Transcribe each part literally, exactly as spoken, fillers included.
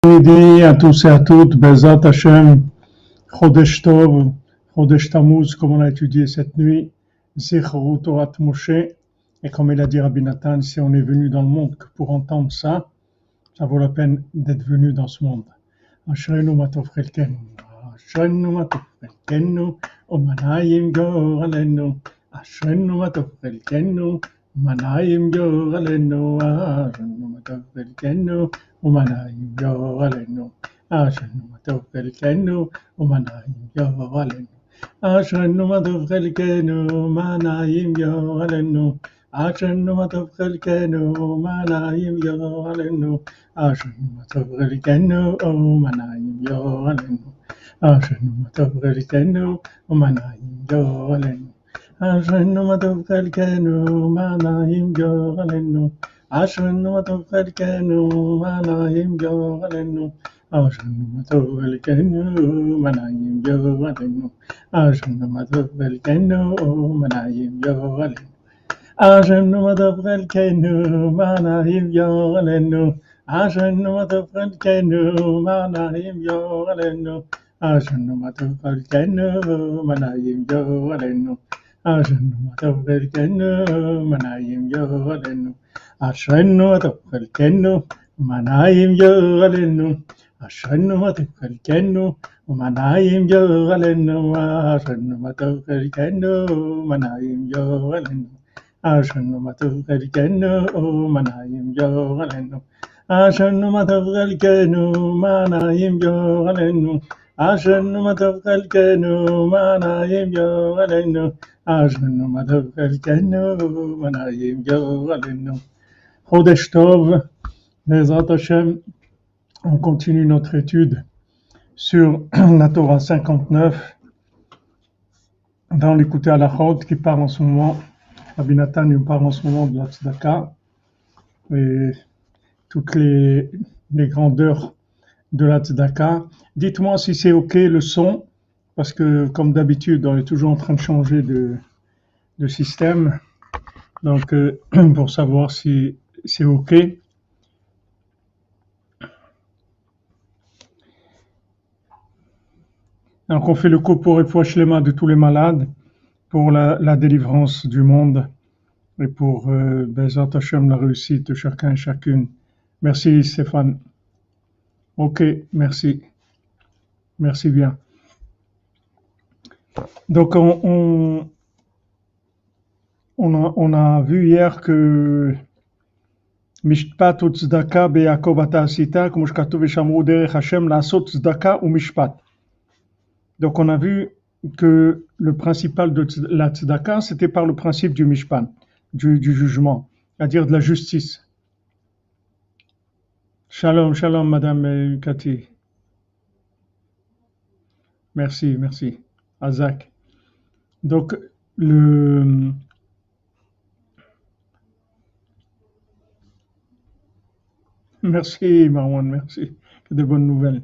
Midi à tous et à toutes, Bezat Hashem, Chodesh Tov, Chodesh Tammuz, comme on a étudié cette nuit, Zichru Torat Moshe, et comme il a dit Rabbi Nathan, si on est venu dans le monde que pour entendre ça, ça vaut la peine d'être venu dans ce monde. Ashrenu matov chelkenu, Ashrenu matov chelkenu, Umanayim goralenu, Ashrenu matov chelkenu, Umanayim goralenu, Ashrenu matov chelkenu, Umanayim goralenu, Ashrenu matov chelkenu, Umanayim goralenu, Ashrenu matov chelkenu, Umanayim goralenu, Ashrenu matov chelkenu, Umanayim goralenu, Ashrenu matov chelkenu, Umanayim goralenu, Ashrenu matov chelkenu, Umanayim goralenu, Ashrenu matov chelkenu, Umanayim goralenu, Ashrenu matov chelkenu, Umanayim goralenu, Ashrenu matov chelkenu, Umanayim goralenu, Ashrenu matov chelkenu, Umanayim goralenu, Ashrenu matov chelkenu, Umanayim goralenu, Ashrenu matov chelkenu, Umanayim goralenu, Ashrenu matov chelkenu, Umanayim goralenu, Ashrenu matov chelkenu, Umanayim goralenu, Ashrenu matov chelkenu, Umanayim goralenu, Ashrenu matov chelkenu, Umanayim goralenu, Ashrenu matov chelkenu, Umanayim goralenu, Ashrenu matov chelkenu, Umanayim goralenu, Ashrenu matov chelkenu, Umanayim goralenu, Ashrenu matov chelkenu, Umanayim goralenu, Ashrenu matov chelkenu, Umanayim goralenu. Chodesh Tov, Bezrat Hashem, on continue notre étude sur la Torah cinquante-neuf dans l'écouté à la Chod qui parle en ce moment, Rabbi Nathan nous parle en ce moment de la Tzedaka et toutes les, les grandeurs de la Tzedaka. Dites-moi si c'est OK le son, parce que comme d'habitude, on est toujours en train de changer de, de système, donc euh, pour savoir si c'est OK. Donc on fait le coup pour Refoua Shlema de tous les malades, pour la, la délivrance du monde et pour euh, Bezrat Hashem, la réussite de chacun et chacune. Merci Stéphane. OK, merci. Merci bien. Donc on, on, on, a, on a vu hier que Mishpat ou Tzedaka be'Yakov ata asita, comme shkatuv v'shamru derech Hashem la'asot tzedaka ou mishpat. Donc on a vu que le principal de la tzedaka, c'était par le principe du mishpat, du, du jugement, c'est-à-dire de la justice. Shalom, shalom, Madame Cathy. Merci, merci. Azak. Donc, le... Merci, Marwan, merci. De bonnes nouvelles.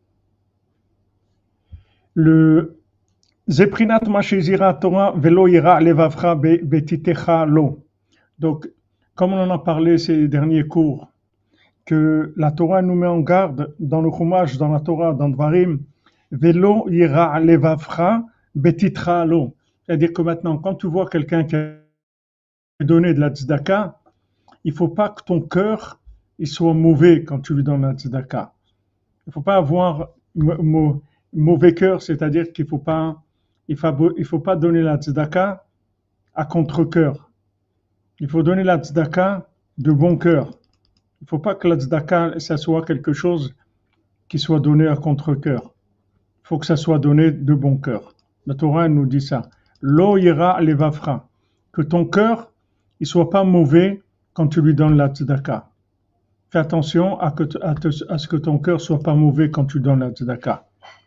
Le Zeprinat Mashizira Torah Velo Ira Levavra Betitecha Lo. Donc, comme on en a parlé ces derniers cours, que la Torah nous met en garde dans le Chumash, dans la Torah, dans Dvarim, Velo Ira Levavra Betitecha Lo. C'est-à-dire que maintenant, quand tu vois quelqu'un qui a donné de la tzedaka, il ne faut pas que ton cœur il soit mauvais quand tu lui donnes la tzedaka. Il ne faut pas avoir mauvais cœur, c'est-à-dire qu'il ne faut pas, il faut, il faut pas donner la tzedaka à contre-cœur. Il faut donner la tzedaka de bon cœur. Il ne faut pas que la tzedaka, ça soit quelque chose qui soit donné à contre-cœur. Il faut que ça soit donné de bon cœur. La Torah nous dit ça. Lo ira levavra. Que ton cœur, il soit pas mauvais quand tu lui donnes la tzedaka. Fais attention à, que, à, te, à ce que ton cœur soit pas mauvais quand tu donnes la tzedaka.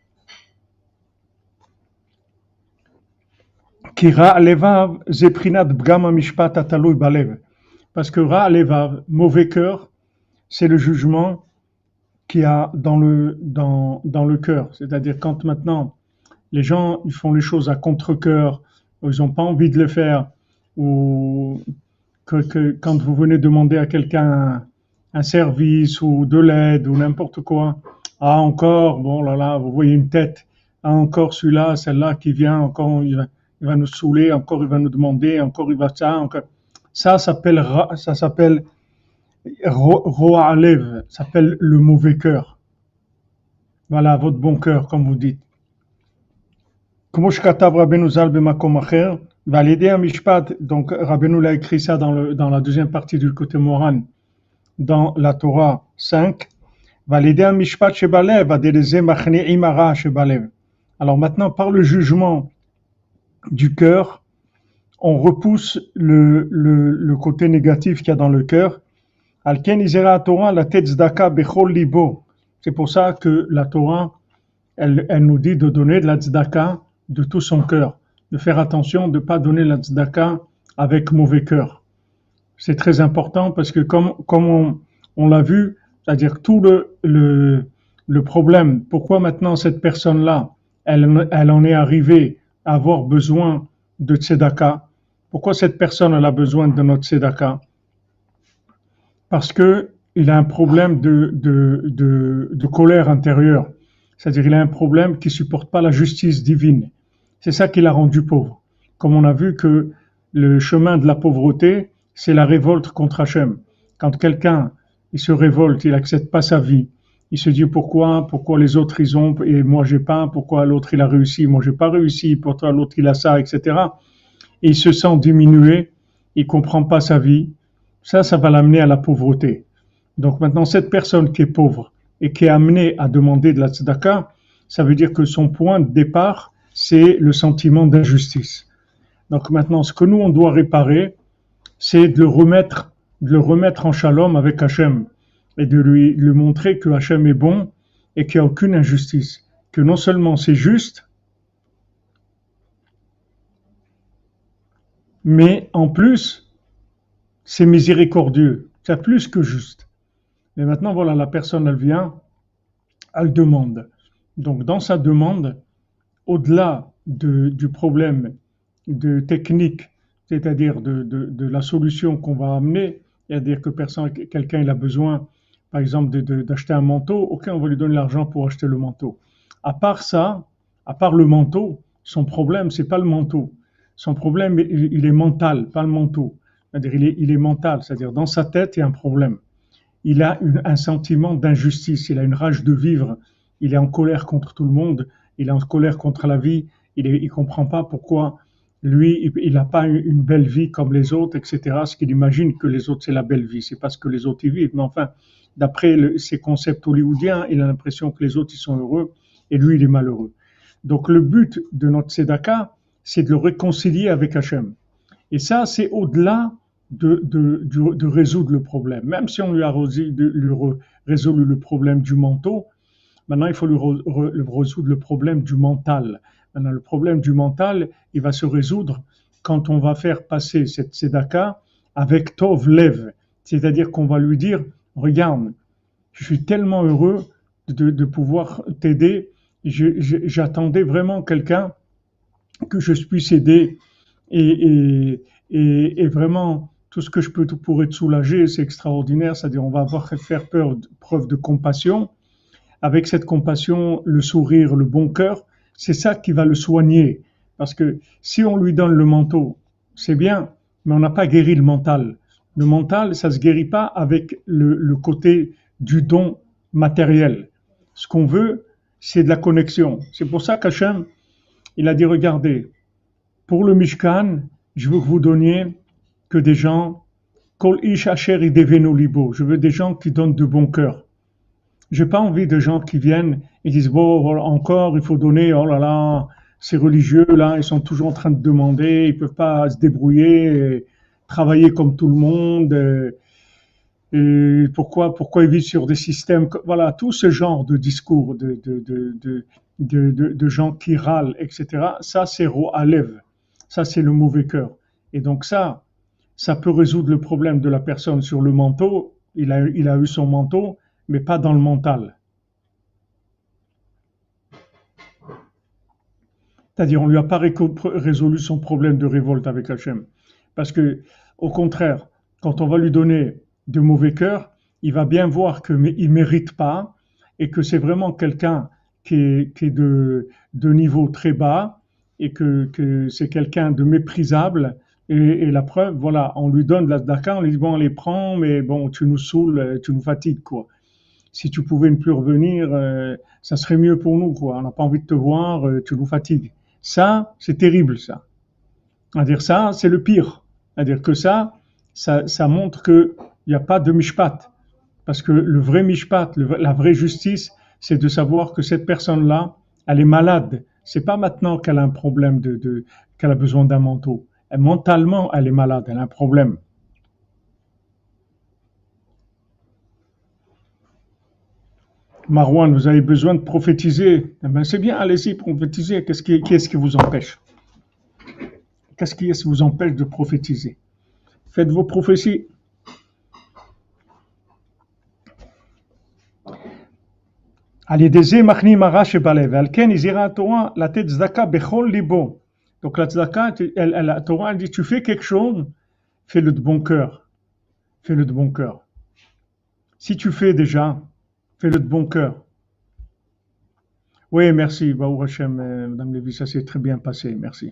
Ki ra levav zeprinat bgam mishpat atalui balev. Parce que ra levav, mauvais cœur, c'est le jugement qu'il y a dans le, dans, dans le cœur. C'est-à-dire quand maintenant les gens ils font les choses à contre-cœur, ou ils n'ont pas envie de le faire, ou que, que quand vous venez demander à quelqu'un un service ou de l'aide ou n'importe quoi. Ah, encore, bon là là, vous voyez une tête. Ah, encore celui-là, celle-là qui vient, encore il va, il va nous saouler, encore il va nous demander, encore il va ça, encore. Ça s'appelle, ça s'appelle Roa Alev, ça s'appelle le mauvais cœur. Voilà, votre bon cœur, comme vous dites. Comme שכתב רבנו ז"ל במקום אחר, ועל ידי המשפט, donc Rabbeinu l'a écrit ça dans, le, dans la deuxième partie du côté Moran, dans la Torah cinq, ועל ידי המשפט שבלב, עד ידי זה מכניעים הרע שבלב. Alors maintenant, par le jugement du cœur, on repousse le, le, le côté négatif qu'il y a dans le cœur. Al ken izera Torah la tzedaka bechol libo. C'est pour ça que la Torah, elle, elle nous dit de donner de la tzedaka de tout son cœur, de faire attention de ne pas donner la tzedaka avec mauvais cœur. C'est très important parce que comme, comme on, on l'a vu, c'est-à-dire tout le, le, le problème, pourquoi maintenant cette personne-là, elle, elle en est arrivée à avoir besoin de tzedaka, pourquoi cette personne elle a besoin de notre tzedaka? Parce que il a un problème de, de, de, de colère intérieure. C'est-à-dire il a un problème qui ne supporte pas la justice divine. C'est ça qui l'a rendu pauvre. Comme on a vu que le chemin de la pauvreté, c'est la révolte contre Hachem. Quand quelqu'un il se révolte, il n'accepte pas sa vie, il se dit pourquoi, pourquoi les autres ils ont et moi j'ai pas, pourquoi l'autre il a réussi, moi j'ai pas réussi, pourquoi l'autre il a ça, et cetera. Et il se sent diminué, il comprend pas sa vie. Ça, ça va l'amener à la pauvreté. Donc maintenant, cette personne qui est pauvre et qui est amenée à demander de la tzedaka, ça veut dire que son point de départ, c'est le sentiment d'injustice. Donc maintenant, ce que nous, on doit réparer, c'est de le remettre, de le remettre en shalom avec Hachem et de lui, lui montrer que Hachem est bon et qu'il n'y a aucune injustice. Que non seulement c'est juste, mais en plus, c'est miséricordieux. C'est plus que juste. Mais maintenant, voilà, la personne, elle vient, elle demande. Donc, dans sa demande, au-delà de, du problème de technique, c'est-à-dire de, de, de la solution qu'on va amener, c'est-à-dire que personne, quelqu'un il a besoin, par exemple, de, de, d'acheter un manteau, ok, on va lui donner l'argent pour acheter le manteau. À part ça, à part le manteau, son problème, c'est pas le manteau. Son problème, il, il est mental, pas le manteau. C'est-à-dire, il est, il est mental, c'est-à-dire dans sa tête, il y a un problème. Il a une, un sentiment d'injustice, il a une rage de vivre, il est en colère contre tout le monde, il est en colère contre la vie, il ne comprend pas pourquoi lui, il n'a pas une belle vie comme les autres, et cetera. Ce qu'il imagine que les autres, c'est la belle vie, c'est parce que les autres y vivent. Mais enfin, d'après le, ses concepts hollywoodiens, il a l'impression que les autres, ils sont heureux et lui, il est malheureux. Donc le but de notre tzedaka, c'est de le réconcilier avec Hachem. Et ça, c'est au-delà de, de, de, de résoudre le problème. Même si on lui a résolu, de, lui résolu le problème du manteau, maintenant il faut lui re, re, résoudre le problème du mental. Maintenant, le problème du mental, il va se résoudre quand on va faire passer cette tzedaka avec Tov Lev. C'est-à-dire qu'on va lui dire, regarde, je suis tellement heureux de, de pouvoir t'aider, je, je, j'attendais vraiment quelqu'un que je puisse aider et, et, et, et vraiment tout ce que je peux pour te soulager, c'est extraordinaire, c'est-à-dire on va avoir faire peur, preuve de compassion. Avec cette compassion, le sourire, le bon cœur, c'est ça qui va le soigner. Parce que si on lui donne le manteau, c'est bien, mais on n'a pas guéri le mental. Le mental, ça ne se guérit pas avec le, le côté du don matériel. Ce qu'on veut, c'est de la connexion. C'est pour ça qu'Hachem, il a dit, regardez, pour le Mishkan, je veux que vous donniez que des gens, Kol ish asher idevenu libo. Je veux des gens qui donnent de bon cœur. J'ai pas envie de gens qui viennent et disent, bon, encore, il faut donner, oh là là, ces religieux-là, ils sont toujours en train de demander, ils peuvent pas se débrouiller, travailler comme tout le monde, et, et pourquoi, pourquoi ils vivent sur des systèmes, voilà, tout ce genre de discours de, de, de, de, de, de, de gens qui râlent, et cetera. Ça, c'est Ro'alev. Ça, c'est le mauvais cœur. Et donc ça, ça peut résoudre le problème de la personne sur le manteau. Il a, il a eu son manteau, mais pas dans le mental. C'est-à-dire, on ne lui a pas résolu son problème de révolte avec Hachem. Parce que, au contraire, quand on va lui donner de mauvais cœur, il va bien voir qu'il ne mérite pas et que c'est vraiment quelqu'un qui est, qui est de, de niveau très bas et que, que c'est quelqu'un de méprisable. Et, et la preuve, voilà, on lui donne de la tzedaka, on lui dit bon, on les prend, mais bon, tu nous saoules, tu nous fatigues, quoi. Si tu pouvais ne plus revenir, euh, ça serait mieux pour nous, quoi. On n'a pas envie de te voir, euh, tu nous fatigues. Ça, c'est terrible, ça. À dire ça, c'est le pire. À dire que ça, ça, ça montre qu'il n'y a pas de mishpat. Parce que le vrai mishpat, le, la vraie justice, c'est de savoir que cette personne-là, elle est malade. C'est pas maintenant qu'elle a un problème de, de qu'elle a besoin d'un manteau. Elle, mentalement, elle est malade, elle a un problème. Marouane, vous avez besoin de prophétiser. Eh ben, c'est bien, allez-y, prophétiser. Qu'est-ce qui, qu'est-ce qui vous empêche? Qu'est-ce qui vous empêche de prophétiser? Faites vos prophéties. Allez, des machni marash balev. Alken izira Torah la tête tzedaka bechol libo. Donc la tzedaka, elle, elle, la Torah elle dit tu fais quelque chose, fais-le de bon cœur. Fais-le de bon cœur. Si tu fais déjà, fais-le de bon cœur. Oui, merci, Baou Hashem, euh, Madame Lévy, ça s'est très bien passé, merci.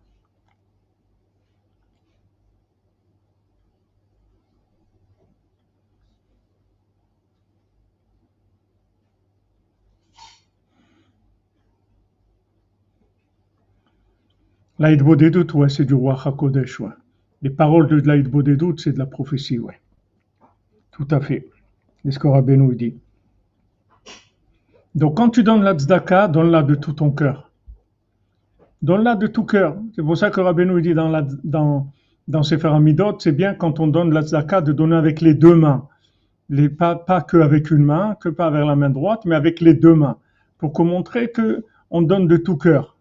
L'Aïd Bodedut, ouais, c'est du roi HaKodesh, ouais. Les paroles de l'Aïd Bodedut, c'est de la prophétie, ouais. Tout à fait. C'est ce que Rabbeinu dit. Donc, quand tu donnes la tzedaka, donne-la de tout ton cœur. Donne-la de tout cœur. C'est pour ça que Rabbeinu dit dans, la, dans, dans Sefer Hamidot, c'est bien quand on donne la tzedaka de donner avec les deux mains. Les, pas, pas que avec une main, que pas avec la main droite, mais avec les deux mains. Pour qu'on montrer qu'on donne de tout cœur.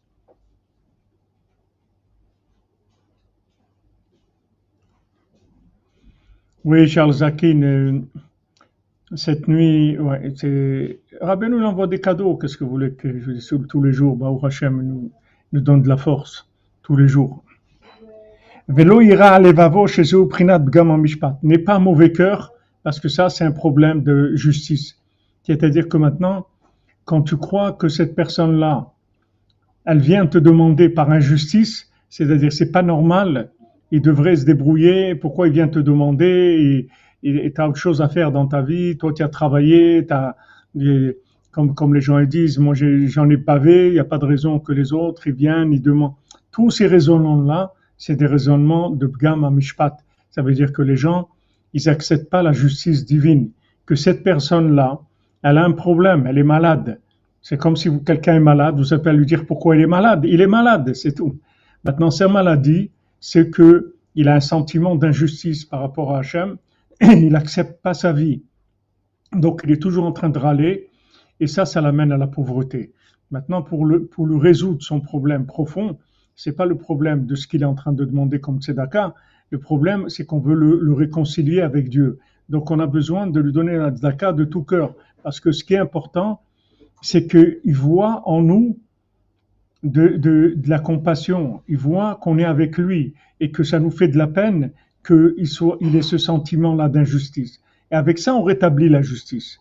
Oui, Charles Zakin, euh, cette nuit, ouais, c'est... Rabbeinu nous envoie des cadeaux. Qu'est-ce que vous voulez que je dise tous les jours? Baou Hashem nous, nous donne de la force tous les jours. Velo ira levavo shezeu prinat bgam mishpat. N'est pas mauvais cœur, parce que ça, c'est un problème de justice. C'est-à-dire que maintenant, quand tu crois que cette personne-là, elle vient te demander par injustice, c'est-à-dire c'est pas normal, il devrait se débrouiller, pourquoi il vient te demander, et tu as autre chose à faire dans ta vie, toi tu as travaillé, t'as, et, comme, comme les gens ils disent, moi j'ai, j'en ai pavé, il n'y a pas de raison que les autres ils viennent, ils demandent. Tous ces raisonnements-là, c'est des raisonnements de Bgam Mishpat. Ça veut dire que les gens, ils n'acceptent pas la justice divine, que cette personne-là, elle a un problème, elle est malade. C'est comme si vous, quelqu'un est malade, vous appelez à lui dire pourquoi il est malade. Il est malade, c'est tout. Maintenant, sa maladie, c'est que il a un sentiment d'injustice par rapport à Hachem, et il n'accepte pas sa vie. Donc, il est toujours en train de râler, et ça, ça l'amène à la pauvreté. Maintenant, pour le, pour le résoudre son problème profond, c'est pas le problème de ce qu'il est en train de demander comme tzedaka. Le problème, c'est qu'on veut le, le réconcilier avec Dieu. Donc, on a besoin de lui donner la tzedaka de tout cœur, parce que ce qui est important, c'est qu'il voit en nous de, de, de la compassion, il voit qu'on est avec lui et que ça nous fait de la peine qu'il soit, il ait ce sentiment-là d'injustice. Et avec ça, on rétablit la justice.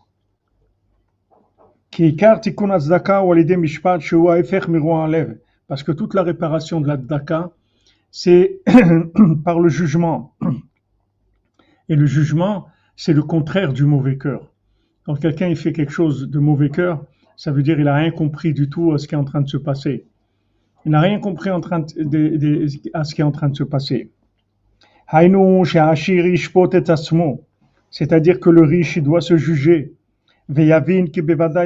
Parce que toute la réparation de la tzedaka, c'est par le jugement. Et le jugement, c'est le contraire du mauvais cœur. Quand quelqu'un il fait quelque chose de mauvais cœur, ça veut dire qu'il n'a rien compris du tout à ce qui est en train de se passer. Il n'a rien compris en train de, de, de, à ce qui est en train de se passer. C'est-à-dire que le riche il doit se juger. C'est-à-dire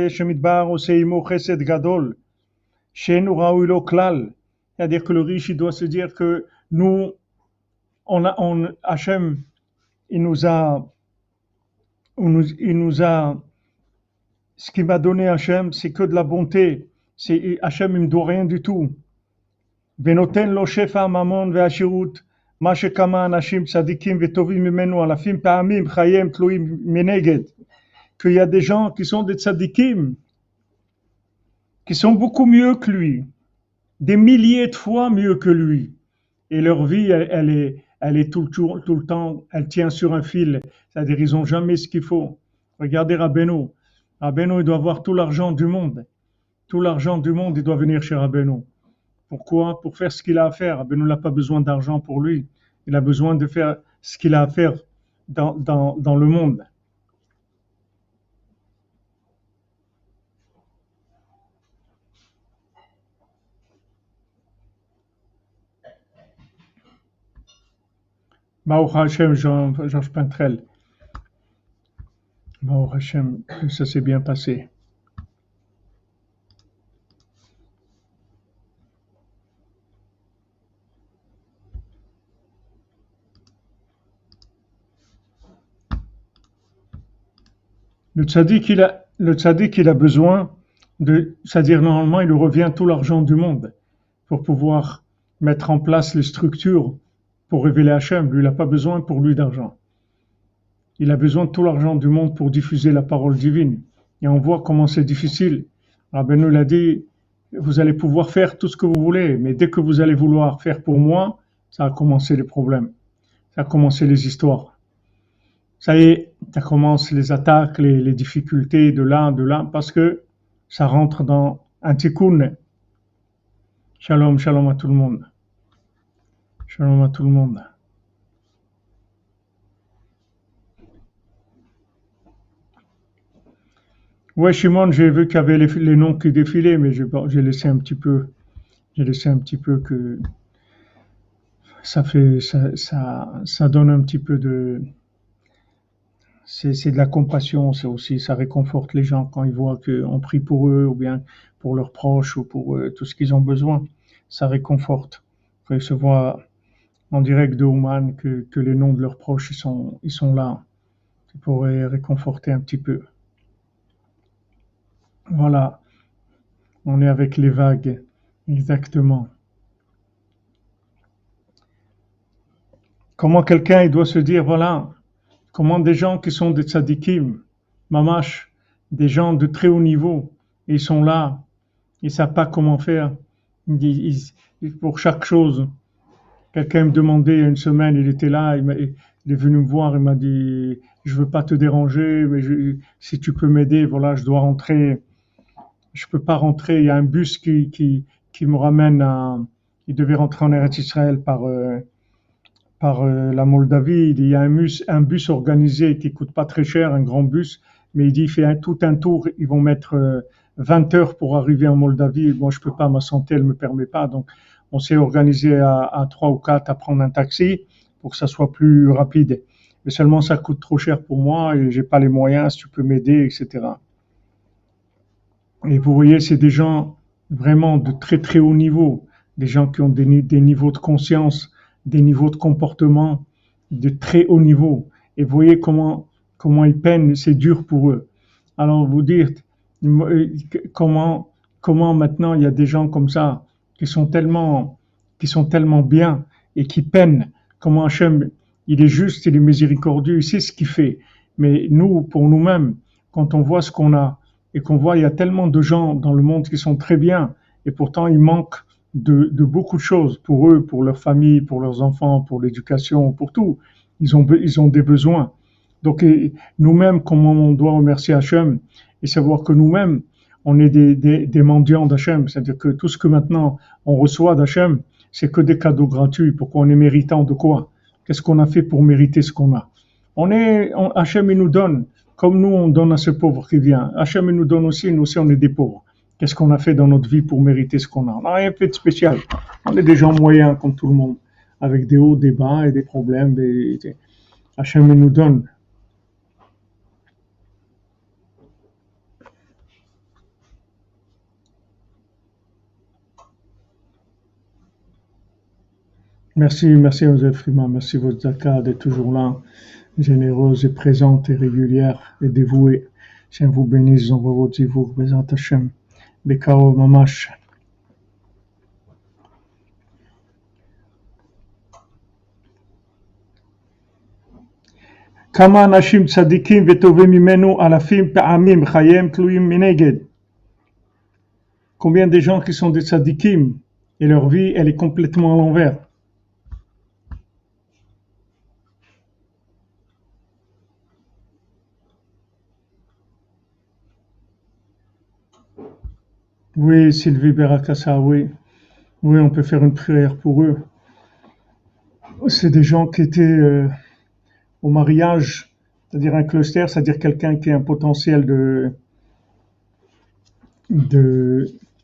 que le riche il doit se dire que nous, on a, on, Hachem, il nous a, on nous, il nous a, ce qu'il m'a donné Hachem, c'est que de la bonté. C'est, Hachem, il me doit rien du tout. Venoten lo shefa mamon ve'ashirut, ma shekama anashim tzadikim ve'tovim mimenu alafim pa'amim chayem tluim meneged. Qu'il y a des gens qui sont des tzadikim, qui sont beaucoup mieux que lui, des milliers de fois mieux que lui. Et leur vie, elle, elle est, elle est tout le, tour- tout le temps, elle tient sur un fil, c'est-à-dire ils n'ont jamais ce qu'il faut. Regardez Rabbeinu. Rabbeinu, il doit avoir tout l'argent du monde. Tout l'argent du monde, il doit venir chez Rabbeinu. Pourquoi? Pour faire ce qu'il a à faire. Rabbeinu n'a pas besoin d'argent pour lui. Il a besoin de faire ce qu'il a à faire dans, dans, dans le monde. Baruch Hashem, Georges Pintrel. Baruch Hashem, ça s'est bien passé. Le tzaddik, il a, le tzaddik, il a besoin de, c'est-à-dire normalement, il lui revient tout l'argent du monde pour pouvoir mettre en place les structures pour révéler Hachem. Lui, il n'a pas besoin pour lui d'argent. Il a besoin de tout l'argent du monde pour diffuser la parole divine. Et on voit comment c'est difficile. Rabbeinu l'a dit, vous allez pouvoir faire tout ce que vous voulez, mais dès que vous allez vouloir faire pour moi, ça a commencé les problèmes. Ça a commencé les histoires. Ça y est, ça commence les attaques, les, les difficultés de là, de là, parce que ça rentre dans un tikkun. Shalom, shalom à tout le monde. Shalom à tout le monde. Ouais, Shimon, j'ai vu qu'il y avait les, les noms qui défilaient, mais j'ai, j'ai laissé un petit peu, j'ai laissé un petit peu que ça fait, ça, ça, ça donne un petit peu de, c'est, c'est de la compassion, c'est aussi, ça réconforte les gens quand ils voient qu'on prie pour eux, ou bien pour leurs proches, ou pour euh, tout ce qu'ils ont besoin. Ça réconforte. Quand ils se voient en direct de Ouman, que, que les noms de leurs proches, ils sont, ils sont là. Ça pourrait réconforter un petit peu. Voilà. On est avec les vagues. Exactement. Comment quelqu'un, il doit se dire, voilà, comment des gens qui sont des tzadikim, mamash, des gens de très haut niveau, ils sont là, ils ne savent pas comment faire. Ils, ils, pour chaque chose. Quelqu'un me demandait il y a une semaine, il était là, il, m'a, il est venu me voir, il m'a dit, je veux pas te déranger, mais je, si tu peux m'aider, voilà, je dois rentrer, je peux pas rentrer, il y a un bus qui, qui, qui me ramène à, il devait rentrer en Eretz Israël par, euh, par euh, la Moldavie, il y a un bus, un bus organisé qui coûte pas très cher, un grand bus, mais il dit, il fait un, tout un tour, ils vont mettre euh, vingt heures pour arriver en Moldavie, moi je peux pas, ma santé elle me permet pas, donc on s'est organisé à, à trois ou quatre à prendre un taxi pour que ça soit plus rapide. Mais seulement ça coûte trop cher pour moi et j'ai pas les moyens, si tu peux m'aider, et cetera. Et vous voyez, c'est des gens vraiment de très très haut niveau, des gens qui ont des, des niveaux de conscience, des niveaux de comportement de très haut niveau. Et vous voyez comment, comment ils peinent, c'est dur pour eux. Alors vous dites, comment, comment maintenant il y a des gens comme ça, qui sont tellement, qui sont tellement bien et qui peinent. Comment Hachem, il est juste, il est miséricordieux, il sait ce qu'il fait. Mais nous, pour nous-mêmes, quand on voit ce qu'on a et qu'on voit il y a tellement de gens dans le monde qui sont très bien et pourtant il manque de, de beaucoup de choses pour eux, pour leur famille, pour leurs enfants, pour l'éducation, pour tout. Ils ont, ils ont des besoins. Donc et nous-mêmes, comment on doit remercier Hachem et savoir que nous-mêmes, on est des, des, des mendiants d'Hachem, c'est-à-dire que tout ce que maintenant on reçoit d'Hachem, c'est que des cadeaux gratuits. Pourquoi on est méritant de quoi? Qu'est-ce qu'on a fait pour mériter ce qu'on a? On est, on, Hachem il nous donne, comme nous on donne à ce pauvre qui vient. Hachem il nous donne aussi, nous aussi on est des pauvres. Qu'est-ce qu'on a fait dans notre vie pour mériter ce qu'on a? On n'a rien fait de spécial. On est des gens moyens comme tout le monde, avec des hauts, des bas et des problèmes. Des, des... Hachem il nous donne. Merci, merci Joseph Frima, merci votre zakat d'être toujours là, généreuse et présente et régulière et dévouée. Hachem vous bénisse, envoie votre zivour, Bezat Hachem, Bekao Mamash. כמה אנשים צדיקים וטובים ממנו אלפים פעמים חייהם תלויים מנגד. Combien de gens qui sont des tzadikim et leur vie elle est complètement à l'envers. Oui, Sylvie Berakassa, oui. Oui, on peut faire une prière pour eux. C'est des gens qui étaient euh, au mariage, c'est-à-dire un cluster, c'est-à-dire quelqu'un qui a un potentiel de, de,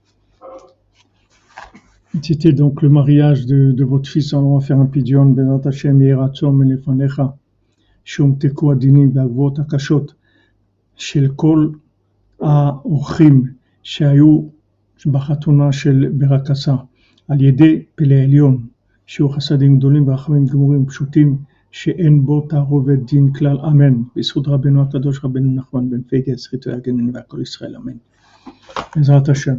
c'était donc le mariage de, de votre fils. Alors on va faire un pidion, Bezrat Hashem, Yeratzom, Menefanecha, Shumteku Adinim, Bagvot Akashot, של כל האורחים שהיו בחתונה של ברקסה, על ידי פלא עליון, שיהיו חסדים גדולים ורחמים גמורים פשוטים, שאין בו תערובת דין כלל, אמן. בזכות רבנו הקדוש רבנו נחמן בן פגה, זכיתו יגננו והכל ישראל, אמן. בעזרת השם.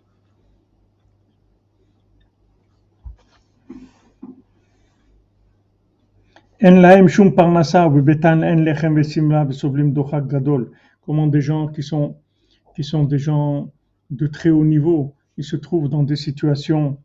אין להם שום פרנסה ובביתן אין לחם ושמלה וסובלים דוחק גדול. Comment des gens qui sont, qui sont des gens de très haut niveau, ils se trouvent dans des situations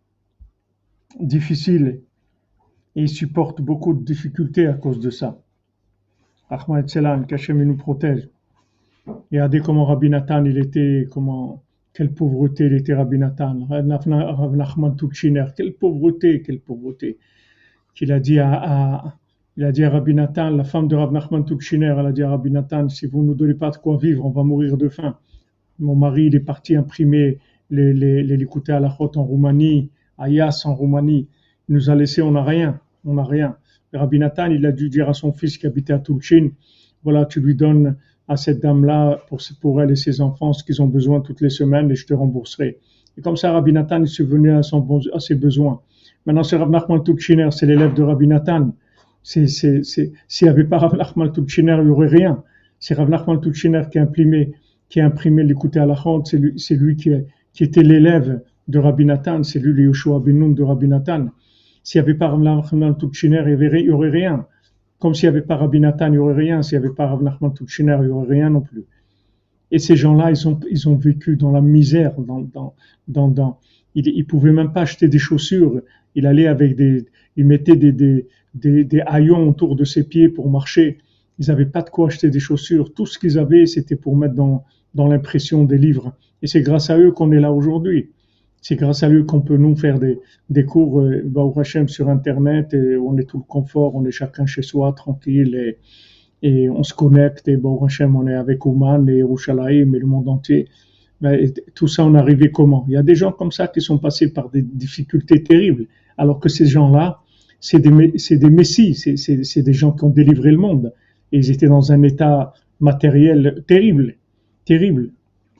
difficiles et ils supportent beaucoup de difficultés à cause de ça. Ahmad Selam, qu'Hachem nous protège. Regardez comment Rabbi Nathan, il était, comment, quelle pauvreté il était Rabbi Nathan. Rav Nachman Tuchiner, quelle pauvreté, quelle pauvreté. Qu'il a dit à, à Il a dit à Rabbi Nathan, la femme de Rav Nachman Tuchiner, elle a dit à Rabbi Nathan, si vous ne nous donnez pas de quoi vivre, on va mourir de faim. Mon mari, il est parti imprimer les, les, les Likutei Halachot en Roumanie, à Yas en Roumanie. Il nous a laissé, on n'a rien, on n'a rien. Et Rabbi Nathan, il a dû dire à son fils qui habitait à Tulchin, voilà, tu lui donnes à cette dame-là, pour, pour elle et ses enfants, ce qu'ils ont besoin toutes les semaines et je te rembourserai. Et comme ça, Rabbi Nathan, il est subvenu à, son, à ses besoins. Maintenant, c'est Rav Nachman Tuchiner, c'est l'élève de Rabbi Nathan. C'est, c'est, c'est, s'il n'y avait pas Rav Nachman Tuchiner, il n'y aurait rien. C'est Rav Nachman Tuchiner qui a imprimé, qui a imprimé l'Likutei Halachot, c'est lui, c'est lui qui, qui était l'élève de Rabbi Nathan, c'est lui le Yoshua ben Nun de Rabbi Nathan. S'il n'y avait pas Rav Nachman Tuchiner, il n'y aurait rien. Comme s'il n'y avait pas Rabbi Nathan, il n'y aurait rien. S'il n'y avait pas Rav Nachman Tuchiner, il n'y aurait rien non plus. Et ces gens-là, ils ont, ils ont vécu dans la misère, dans, dans, dans, dans ils ne pouvaient même pas acheter des chaussures. Il allait avec des, il mettait des, des, des, des haillons autour de ses pieds pour marcher. Ils n'avaient pas de quoi acheter des chaussures. Tout ce qu'ils avaient, c'était pour mettre dans, dans l'impression des livres. Et c'est grâce à eux qu'on est là aujourd'hui. C'est grâce à eux qu'on peut nous faire des, des cours, euh, Baruch Hashem, sur Internet, et on est tout le confort, on est chacun chez soi, tranquille, et, et on se connecte, et Baruch Hashem, on est avec Ouman et Yerushalayim et le monde entier. Mais tout ça, on est arrivé comment? Il y a des gens comme ça qui sont passés par des difficultés terribles, alors que ces gens-là, c'est des, c'est des messies, c'est, c'est, c'est des gens qui ont délivré le monde. Et ils étaient dans un état matériel terrible, terrible.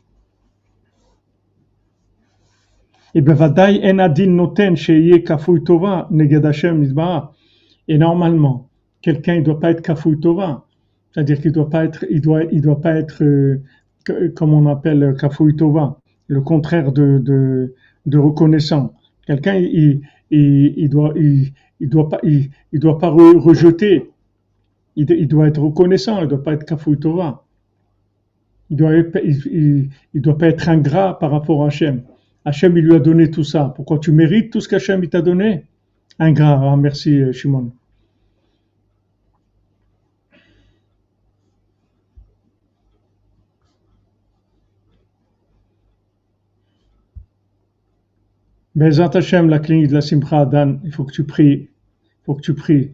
Et bevadaï en adin noten sheye kafouy tova neged Hashem nizba'a. Et normalement, quelqu'un il doit pas être kafouy tova, c'est-à-dire qu'il doit pas être, il doit, il doit pas être euh, comme on appelle kafouy tova, le contraire de de, de reconnaissant. Quelqu'un il, il, il doit, il, il doit pas, il, il doit pas re, rejeter. Il, il doit être reconnaissant. Il doit pas être kafouy tova. Il doit, il, il, il doit pas être ingrat par rapport à Hachem. Hachem, il lui a donné tout ça. Pourquoi tu mérites tout ce qu'Hachem t'a donné? Ingrat. Ah, merci, Shimon. Bezat Hachem, la clinique de la Simcha Dan, il faut que tu pries. Il faut que tu pries.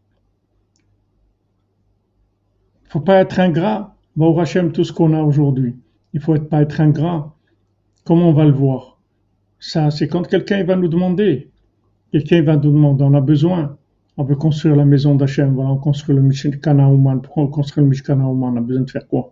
Il ne faut pas être ingrat. Baruch Hachem, tout ce qu'on a aujourd'hui. Il ne faut pas être ingrat. Comment on va le voir? Ça, c'est quand quelqu'un va nous demander. Quelqu'un va nous demander, on a besoin. On veut construire la maison d'Hachem. Voilà, on construit le Mishkan Ha'oman. Pourquoi on construit le Mishkan Ha'oman? On a besoin de faire quoi?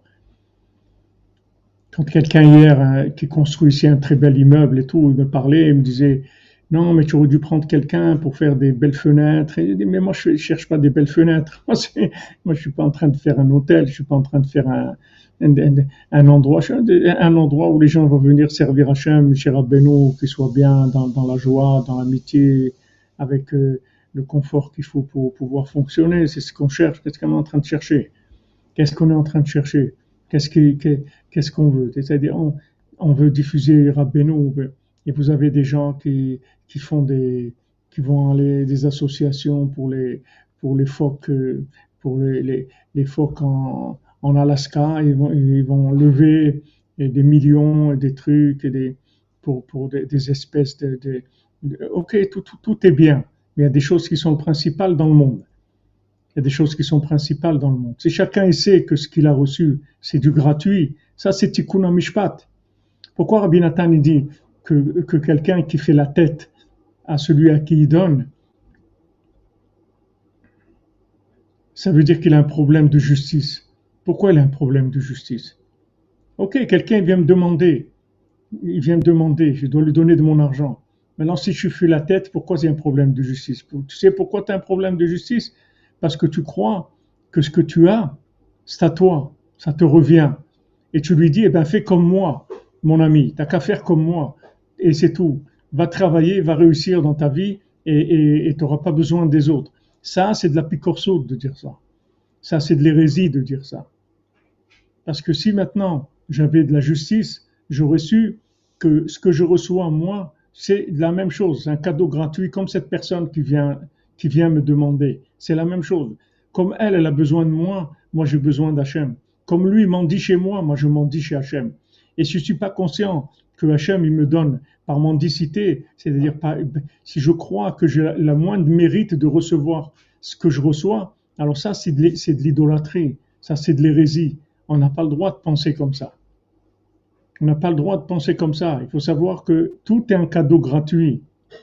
Quand quelqu'un hier hein, qui construit ici un très bel immeuble et tout, il me parlait, il me disait non, mais tu aurais dû prendre quelqu'un pour faire des belles fenêtres. Et il dit mais moi je ne cherche pas des belles fenêtres. Moi, c'est, moi je suis pas en train de faire un hôtel, je suis pas en train de faire un, un, un, un endroit, un endroit où les gens vont venir servir Hachem, chez Rabbeinu, qu'ils soient bien dans, dans la joie, dans l'amitié, avec euh, le confort qu'il faut pour pouvoir fonctionner. C'est ce qu'on cherche. Qu'est-ce qu'on est en train de chercher? Qu'est-ce qu'on est en train de chercher? Qu'est-ce, qui, qu'est-ce qu'on veut? C'est-à-dire, on, on veut diffuser Rabbeinu, et vous avez des gens qui, qui font des, qui vont aller des associations pour les, pour les phoques, pour les, les, les phoques en, en Alaska. Ils vont, ils vont lever et des millions et des trucs et des, pour, pour des, des espèces de, de, de- ok, tout, tout, tout est bien, mais il y a des choses qui sont principales dans le monde. Il y a des choses qui sont principales dans le monde. Si chacun sait que ce qu'il a reçu, c'est du gratuit, ça c'est tikkun mishpat. Pourquoi Rabbi Nathan il dit que, que quelqu'un qui fait la tête à celui à qui il donne, ça veut dire qu'il a un problème de justice. Pourquoi il a un problème de justice? Ok, quelqu'un vient me demander, il vient me demander, je dois lui donner de mon argent. Maintenant, si je fais la tête, pourquoi il y a un problème de justice? Tu sais pourquoi tu as un problème de justice? Parce que tu crois que ce que tu as, c'est à toi, ça te revient. Et tu lui dis, eh ben, fais comme moi, mon ami, t'as qu'à faire comme moi, et c'est tout. Va travailler, va réussir dans ta vie, et tu n'auras pas besoin des autres. Ça, c'est de la picorceau de dire ça. Ça, c'est de l'hérésie de dire ça. Parce que si maintenant j'avais de la justice, j'aurais su que ce que je reçois moi, c'est la même chose, c'est un cadeau gratuit, comme cette personne qui vient, qui vient me demander. C'est la même chose. Comme elle, elle a besoin de moi, moi j'ai besoin d'Hachem. Comme lui m'en dit chez moi, moi je m'en dis chez Hachem. Et si je ne suis pas conscient que Hachem il me donne par mendicité, c'est-à-dire par, si je crois que j'ai la moindre mérite de recevoir ce que je reçois, alors ça c'est de, c'est de l'idolâtrie, ça c'est de l'hérésie. On n'a pas le droit de penser comme ça. On n'a pas le droit de penser comme ça. Il faut savoir que tout est un cadeau gratuit.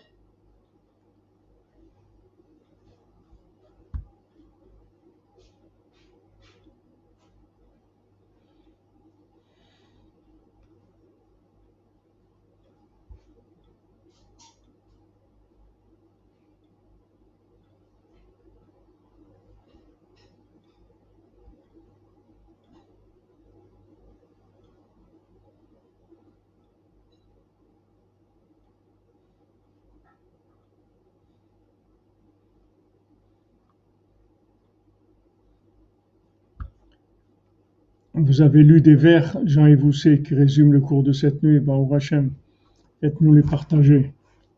Vous avez lu des vers, Jean-Yves Housset, qui résument le cours de cette nuit, Baruch Hashem, faites-nous les partager.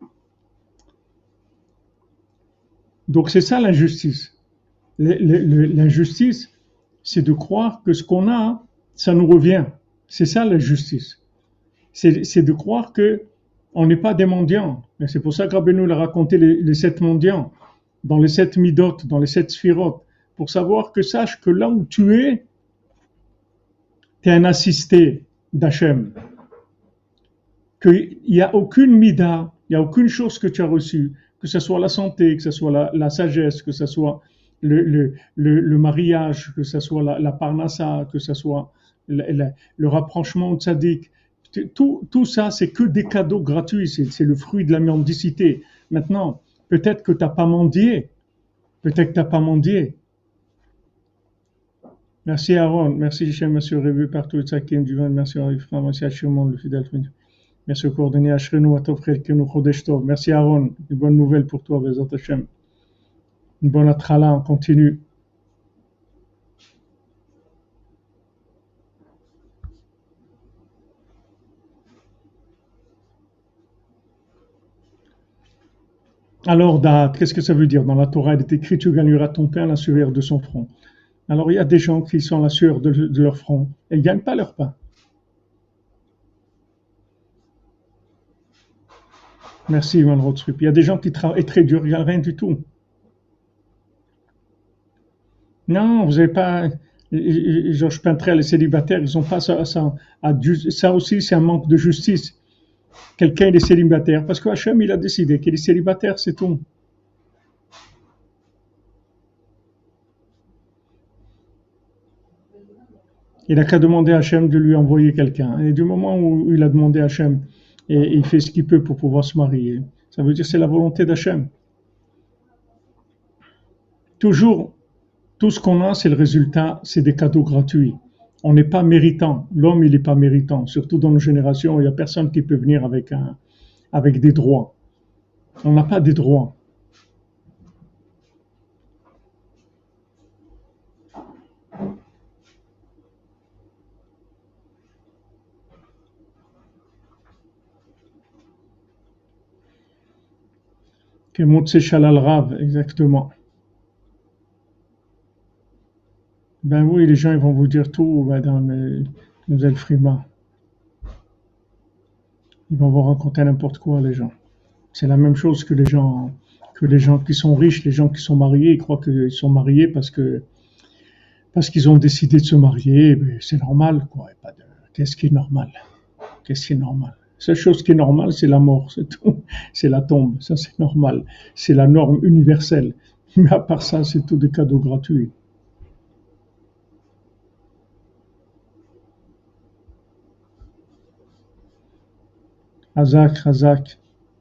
Donc c'est ça l'injustice. L'injustice, c'est de croire que ce qu'on a, ça nous revient. C'est ça l'injustice. C'est, c'est de croire que on n'est pas des mendiants. Et c'est pour ça que Rabbeinu a raconté les, les sept mendiants, dans les sept midot, dans les sept sphirotes, pour savoir que sache que là où tu es, tu es un assisté d'Hachem. Qu'il n'y a aucune mida, il n'y a aucune chose que tu as reçue, que ce soit la santé, que ce soit la, la sagesse, que ce soit le, le, le, le mariage, que ce soit la, la parnassa, que ce soit le, le, le rapprochement au tzaddik. Tout, tout ça, c'est que des cadeaux gratuits, c'est, c'est le fruit de la mendicité. Maintenant, peut-être que tu n'as pas mendié, peut-être que tu n'as pas mendié. Merci Aaron, merci Hichem, merci Révu partout, Tzakim, du vin, merci Arifra, merci Hachimon, le fidèle frère. Merci au coordonné Ashrenu, Atov, Chelkenu, Chodesh Tov. Merci Aaron, une bonne nouvelle pour toi, Bezat Hashem. Une bonne atchala, on continue. Alors, date, qu'est-ce que ça veut dire? Dans la Torah, il est écrit, tu gagneras ton pain à la sueur de son front. Alors, il y a des gens qui sont à la sueur de, de leur front et ils ne gagnent pas leur pain. Merci, Ivan Rothstrup. Il y a des gens qui travaillent très dur, il n'y a rien du tout. Non, vous n'avez pas. Georges Pintrel, les célibataires, ils n'ont pas ça. Ça, ça aussi, c'est un manque de justice. Quelqu'un il est célibataire parce que Hachem il a décidé qu'il est célibataire, c'est tout. Il n'a qu'à demander à Hachem de lui envoyer quelqu'un. Et du moment où il a demandé à Hachem et il fait ce qu'il peut pour pouvoir se marier, ça veut dire que c'est la volonté d'Hachem. Toujours, tout ce qu'on a, c'est le résultat, c'est des cadeaux gratuits. On n'est pas méritant. L'homme, il n'est pas méritant. Surtout dans nos générations, il n'y a personne qui peut venir avec, un, avec des droits. On n'a pas des droits. Que Motse Shalal Rav, exactement. Ben oui, les gens ils vont vous dire tout, madame Mademoiselle Frima. Ils vont vous raconter n'importe quoi, les gens. C'est la même chose que les gens, que les gens qui sont riches, les gens qui sont mariés, ils croient qu'ils sont mariés parce que, parce qu'ils ont décidé de se marier, mais c'est normal, quoi. Et pas de, qu'est-ce qui est normal? Qu'est-ce qui est normal? La seule chose qui est normale, c'est la mort, c'est tout. C'est la tombe, ça c'est normal. C'est la norme universelle. Mais à part ça, c'est tout des cadeaux gratuits. Hazak, Hazak.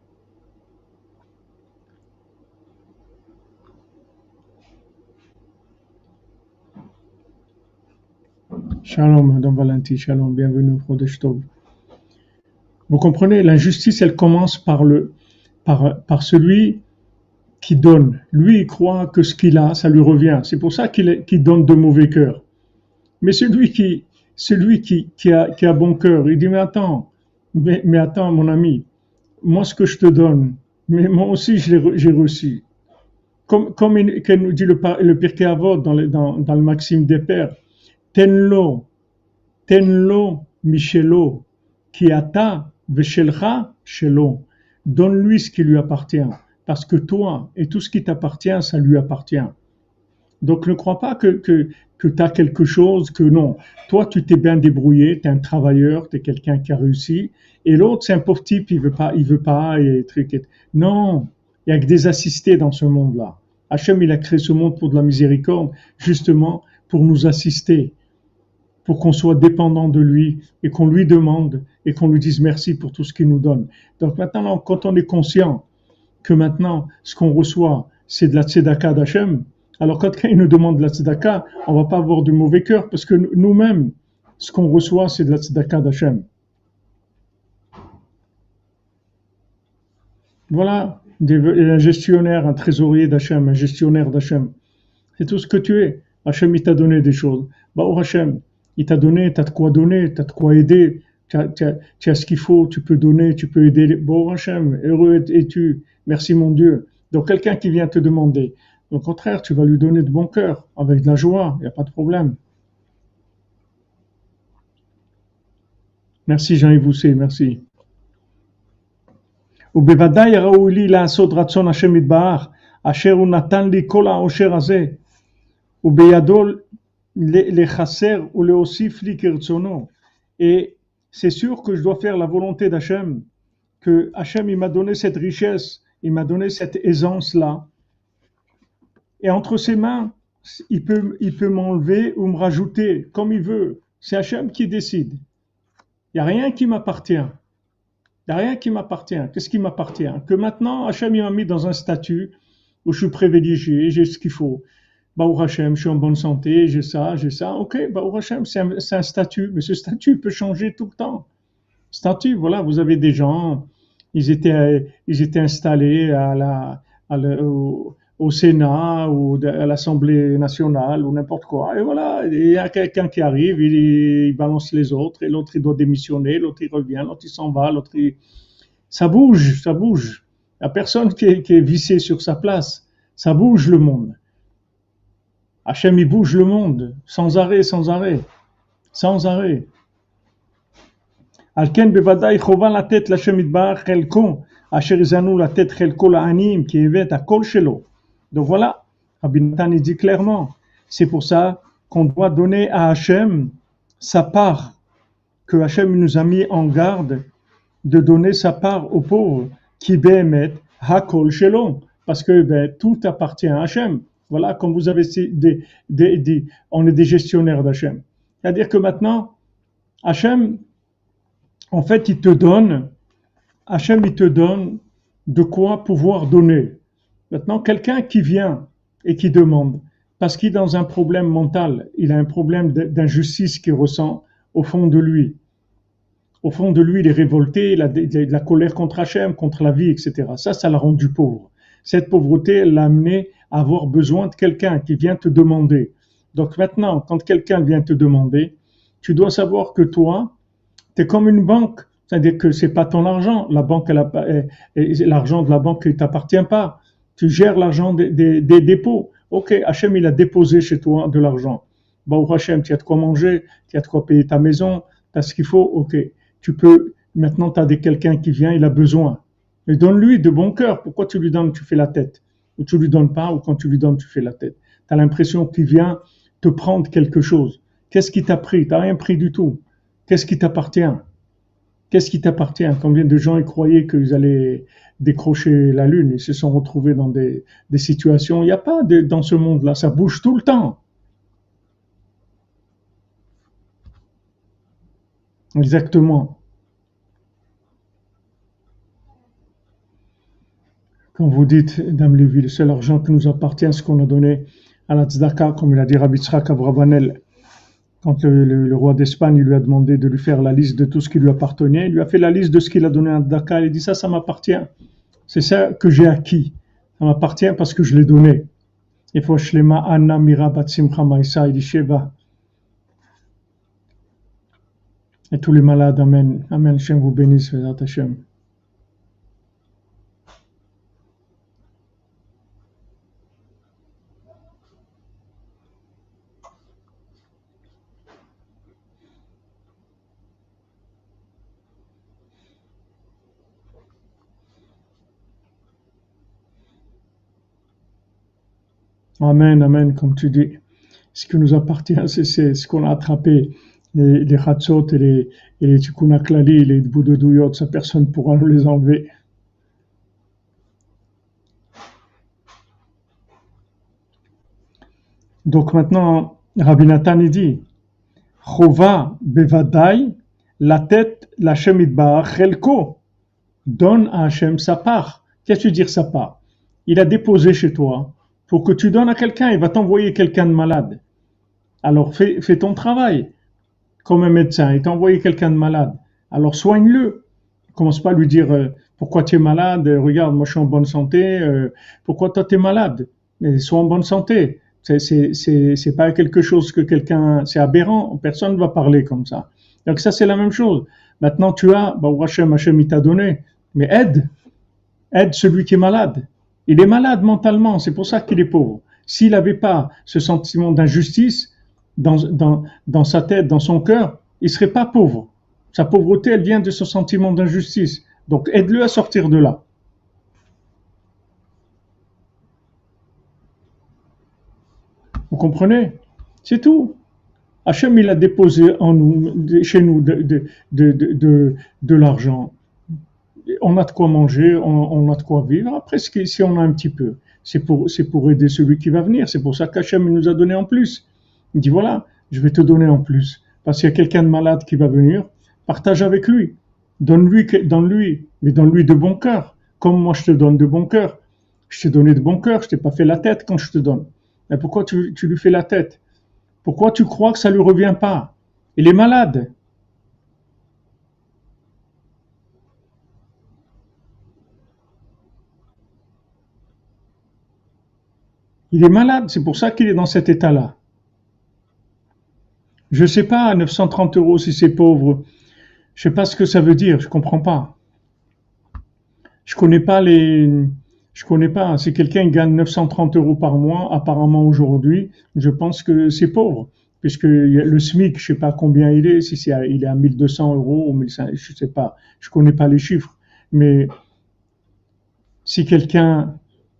Shalom, Madame Valenti, shalom, bienvenue, Chodesh Tov. Vous comprenez, l'injustice, elle commence par le, par, par celui qui donne. Lui, il croit que ce qu'il a, ça lui revient. C'est pour ça qu'il, est- qu'il donne de mauvais cœur. Mais celui qui, celui qui, qui a, qui a bon cœur, il dit, mais attends, mais, mais attends, mon ami, moi, ce que je te donne, mais moi aussi, je l'ai re- j'ai reçu. Comme, comme il, comme nous dit le, par- le Pirkei Avot dans, le- dans, dans le Maxime des Pères, tenlo, tenlo, michelo, qui ata, veshelcha, shelo. Donne-lui ce qui lui appartient. Parce que toi et tout ce qui t'appartient, ça lui appartient. Donc ne crois pas que, que, que tu as quelque chose, que non. Toi, tu t'es bien débrouillé, tu es un travailleur, tu es quelqu'un qui a réussi. Et l'autre, c'est un pauvre type, il veut pas, il veut pas, et truc. et- Non, il y a que des assistés dans ce monde-là. Hachem, il a créé ce monde pour de la miséricorde, justement pour nous assister, pour qu'on soit dépendant de lui et qu'on lui demande et qu'on lui dise merci pour tout ce qu'il nous donne. Donc maintenant, quand on est conscient que maintenant, ce qu'on reçoit, c'est de la tzedaka d'Hachem, alors quand quelqu'un nous demande de la tzedaka, on va pas avoir du mauvais cœur parce que nous-mêmes, ce qu'on reçoit, c'est de la tzedaka d'Hachem. Voilà, un gestionnaire, un trésorier d'Hachem, un gestionnaire d'Hachem. C'est tout ce que tu es. Hachem, il t'a donné des choses. Bah, oh Hachem, il t'a donné, t'as de quoi donner, t'as de quoi aider, tu as, tu as- tu as ce qu'il faut, tu peux donner, tu peux aider. Bon Hachem, heureux es-tu. Merci mon Dieu. Donc quelqu'un qui vient te demander, au contraire, tu vas lui donner de bon cœur, avec de la joie, il n'y a pas de problème. Merci Jean-Yves Housset, merci. ובוודאי ראוי לי לעשות רצון השם יתברך, אשר הוא נתן לי כל העושר הזה, ובידו לחסר ולהוסיף לי כרצונו. Et c'est sûr que je dois faire la volonté d'Hachem, que Hachem il m'a donné cette richesse, il m'a donné cette aisance-là, et entre ses mains, il peut, il peut m'enlever ou me rajouter comme il veut. C'est Hachem qui décide. Il n'y a rien qui m'appartient. Il n'y a rien qui m'appartient. Qu'est-ce qui m'appartient? Que maintenant, Hachem il m'a mis dans un statut où je suis privilégié, j'ai ce qu'il faut. Baruch Hashem, je suis en bonne santé, j'ai ça, j'ai ça. Ok, Baruch Hashem, c'est un, c'est un statut, mais ce statut peut changer tout le temps. Statut, voilà, vous avez des gens, ils étaient, ils étaient installés à la, à la- au, au Sénat ou à l'Assemblée nationale ou n'importe quoi. Et voilà, il y a quelqu'un qui arrive, il, il balance les autres, et l'autre il doit démissionner, l'autre il revient, l'autre il s'en va, l'autre il... Ça bouge, ça bouge. Il n'y a personne qui est, qui est vissé sur sa place. Ça bouge le monde. Hachem, il bouge le monde, sans arrêt, sans arrêt, sans arrêt. על כן בוודאי חובה לתת להשם יתברך חלקו, אשר יזנו לתת חלקו לעניים, כי הביא את הכל שלו. Donc voilà, Rabbi Nathan il dit clairement, c'est pour ça qu'on doit donner à Hachem sa part, que Hachem nous a mis en garde de donner sa part aux pauvres, qui bémet hakol shelo, parce que ben, tout appartient à Hachem. Voilà, comme vous avez dit, des, des, on est des gestionnaires d'Hachem. C'est-à-dire que maintenant, Hachem, en fait, il te donne, Hachem, il te donne de quoi pouvoir donner. Maintenant, quelqu'un qui vient et qui demande, parce qu'il est dans un problème mental, il a un problème d'injustice qu'il ressent au fond de lui. Au fond de lui, il est révolté, il a de la colère contre Hachem, contre la vie, et cetera. Ça, ça l'a rendu pauvre. Cette pauvreté, elle l'a amené à avoir besoin de quelqu'un qui vient te demander. Donc maintenant, quand quelqu'un vient te demander, tu dois savoir que toi, tu es comme une banque. C'est-à-dire que c'est pas ton argent. La banque, elle a, l'argent de la banque ne t'appartient pas. Tu gères l'argent des, des, des dépôts. Ok, Hachem, il a déposé chez toi de l'argent. Baruch Hachem, tu as de quoi manger, tu as de quoi payer ta maison, tu as ce qu'il faut. Ok, tu peux, Maintenant, tu as quelqu'un qui vient, il a besoin. Mais donne-lui de bon cœur. Pourquoi tu lui donnes, tu fais la tête? Ou tu lui donnes pas, ou quand tu lui donnes, tu fais la tête. Tu as l'impression qu'il vient te prendre quelque chose. Qu'est-ce qui t'a pris? Tu n'as rien pris du tout. Qu'est-ce qui t'appartient? Qu'est-ce qui t'appartient? Combien de gens y croyaient qu'ils allaient décrocher la lune? Ils se sont retrouvés dans des, des situations. Il n'y a pas de, dans ce monde-là. Ça bouge tout le temps. Exactement. Quand vous dites, Dame Lévy, le seul argent qui nous appartient, ce qu'on a donné à la tzedaka, comme il a dit Rabbi Tzrak Abravanel, quand le, le, le roi d'Espagne lui a demandé de lui faire la liste de tout ce qui lui appartenait, il lui a fait la liste de ce qu'il a donné à tzedaka, il a dit ça, ça m'appartient. C'est ça que j'ai acquis. Ça m'appartient parce que je l'ai donné. Il faut shlema anna mira bat simcha maïsa, il dit sheva. Et tous les malades, amen. Amen, Hachem vous bénisse, Vezat Hachem. Amen, amen, comme tu dis. Ce qui nous appartient, c'est, c'est ce qu'on a attrapé. Les, les Hatzot et les, et les Tikkun HaKlali, les bouts de douillot, ça personne ne pourra nous les enlever. Donc maintenant, Rabbi Nathan il dit, Chova bevadai, la tête, la Hashem itbarach, chelko, donne à Hashem sa part. Qu'est-ce que tu veux dire sa part? Il a déposé chez toi pour que tu donnes à quelqu'un, il va t'envoyer quelqu'un de malade. Alors fais, fais ton travail. Comme un médecin, il t'a envoyé quelqu'un de malade. Alors soigne-le. Commence pas à lui dire euh, pourquoi tu es malade, regarde, moi je suis en bonne santé, euh, pourquoi toi tu es malade? Mais sois en bonne santé. C'est, c'est, c'est, c'est pas quelque chose que quelqu'un, c'est aberrant, personne ne va parler comme ça. Donc ça c'est la même chose. Maintenant tu as, bah, Hachem, Hachem il t'a donné, mais aide, aide celui qui est malade. Il est malade mentalement, c'est pour ça qu'il est pauvre. S'il n'avait pas ce sentiment d'injustice, Dans, dans, dans sa tête, dans son cœur, il ne serait pas pauvre. Sa pauvreté, elle vient de ce sentiment d'injustice. Donc, aide-le à sortir de là. Vous comprenez? C'est tout. Hachem, il a déposé en nous, chez nous de, de, de, de, de, de l'argent. On a de quoi manger, on, on a de quoi vivre. Après, si on a un petit peu, c'est pour, c'est pour aider celui qui va venir. C'est pour ça qu'Hachem nous a donné en plus. Il dit voilà, je vais te donner en plus. Parce qu'il y a quelqu'un de malade qui va venir, partage avec lui. Donne-lui, donne-lui, mais donne-lui de bon cœur. Comme moi je te donne de bon cœur. Je t'ai donné de bon cœur, je t'ai pas fait la tête quand je te donne. Mais pourquoi tu, tu lui fais la tête? Pourquoi tu crois que ça lui revient pas? Il est malade. Il est malade, c'est pour ça qu'il est dans cet état-là. Je sais pas, neuf cent trente euros si c'est pauvre. Je sais pas ce que ça veut dire, je comprends pas. Je connais pas les, je connais pas. Si quelqu'un gagne neuf cent trente euros par mois, apparemment aujourd'hui, je pense que c'est pauvre. Puisque le SMIC, je sais pas combien il est, si c'est, il est à mille deux cents euros ou mille cinq cents, je sais pas. Je connais pas les chiffres. Mais, si quelqu'un,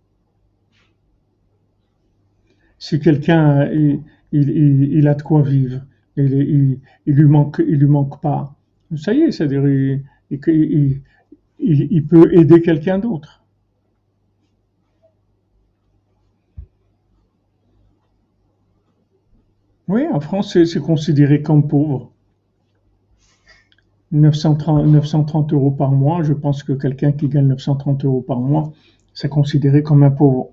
si quelqu'un, il, il, il, il a de quoi vivre, il, il, il lui manque, il lui manque pas. Ça y est, c'est-à-dire, il, il, il, il peut aider quelqu'un d'autre. Oui, en France, c'est, c'est considéré comme pauvre. neuf cent trente, neuf cent trente euros par mois, je pense que quelqu'un qui gagne neuf cent trente euros par mois, c'est considéré comme un pauvre.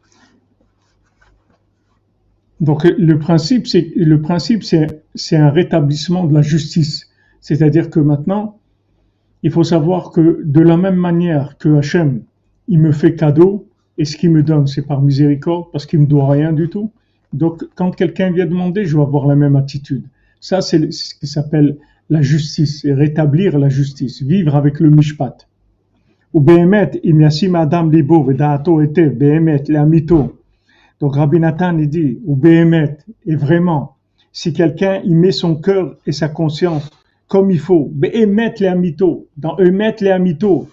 Donc le principe, c'est le principe, c'est c'est un rétablissement de la justice. C'est-à-dire que maintenant, il faut savoir que de la même manière que Hachem, il me fait cadeau, et ce qu'il me donne, c'est par miséricorde, parce qu'il me doit rien du tout. Donc quand quelqu'un vient demander, je vais avoir la même attitude. Ça, c'est ce qui s'appelle la justice, et rétablir la justice, vivre avec le mishpat. Ou behemet, im yasim adam libo vedaato ete, behemet, la mito. Donc Rabbi Nathan il dit, ou Béhémet, et vraiment, si quelqu'un y met son cœur et sa conscience comme il faut. Be'emet le amito, dans emet le amito.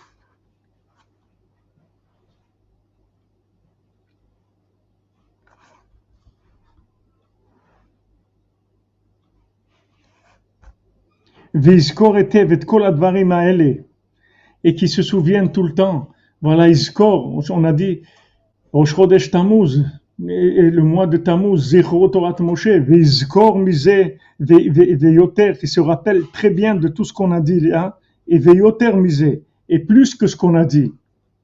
Vizkor etev et kol advarim haele, et qui se souviennent tout le temps. Voilà, Izkor, on a dit, Rosh Chodesh Tammuz, et le mois de Tammuz, Zechro Torat Moshe, Vizkor Misé, Veyoter, qui se rappelle très bien de tout ce qu'on a dit là, et Veyoter Misé, et plus que ce qu'on a dit.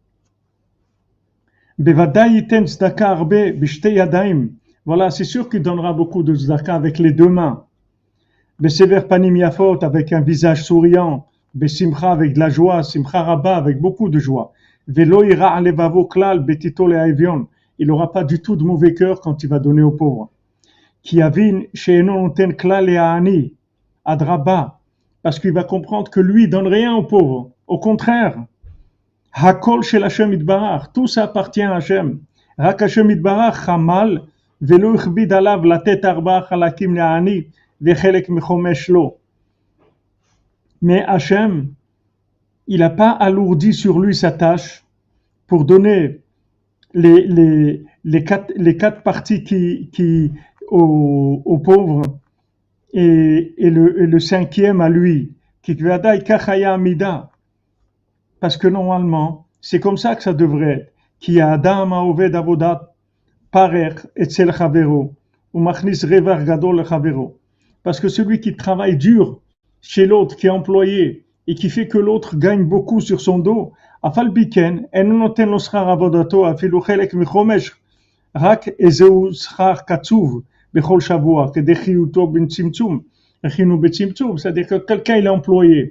Bevadai yiten tzedaka arbe b'shtei yadayim. Voilà, c'est sûr qu'il donnera beaucoup de tzedaka avec les deux mains. Besever panim yafot, avec un visage souriant. Besimcha, avec de la joie. Simcha rabba, avec beaucoup de joie. Velo ira levavo klal betito le'avion. Il n'aura pas du tout de mauvais cœur quand il va donner aux pauvres. Ki yavin she'eno noten klal le'ani adraba, parce qu'il va comprendre que lui donne rien aux pauvres. Au contraire. Hakol shel Hashem itbarach, tout ça appartient à Hashem. Rak Hashem itbarach chamal velo ichbid alav latet arba chalakim le'ani vechelek mechomesh lo. Mais Hashem, il n'a pas alourdi sur lui sa tâche pour donner les, les, les, quatre, les quatre parties qui, qui, aux, aux pauvres et, et, le, et le cinquième à lui. Kikvadai kachaya amida. Parce que normalement, c'est comme ça que ça devrait être. Ki adam haoved avodat parer etzel chavero ou machnis revar gadol chavero. Parce que celui qui travaille dur chez l'autre, qui est employé et qui fait que l'autre gagne beaucoup sur son dos, afal biken en noten lo schar avodato afilu chelek michomesh rak ezeu schar katzuv bechol shavua kedechiyuto ben tzimtzum echinu betzimtzum. C'est-à-dire que quelqu'un il est employé.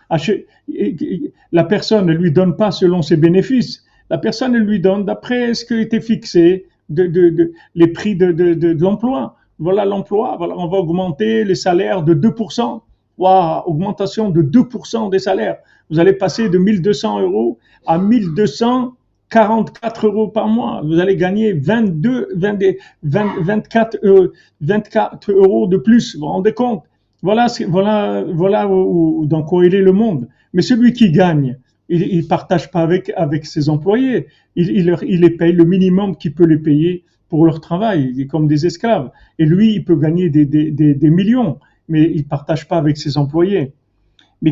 La personne ne lui donne pas selon ses bénéfices. La personne elle lui donne d'après ce qui a été fixé, de, de, de, les prix de, de, de, de l'emploi. Voilà l'emploi, voilà, on va augmenter les salaires de deux pour cent. Waouh, augmentation de deux pour cent des salaires. Vous allez passer de mille deux cents euros à mille deux cent quarante-quatre euros par mois. Vous allez gagner vingt-deux, vingt, vingt, vingt-quatre, euh, vingt-quatre euros de plus. Vous vous rendez compte? Voilà, voilà, voilà où, où, dans quoi il est le monde. Mais celui qui gagne, il ne partage pas avec, avec ses employés. Il, il, leur, il les paye le minimum qu'il peut les payer pour leur travail, comme des esclaves. Et lui, il peut gagner des, des, des, des millions, mais il ne partage pas avec ses employés. Mais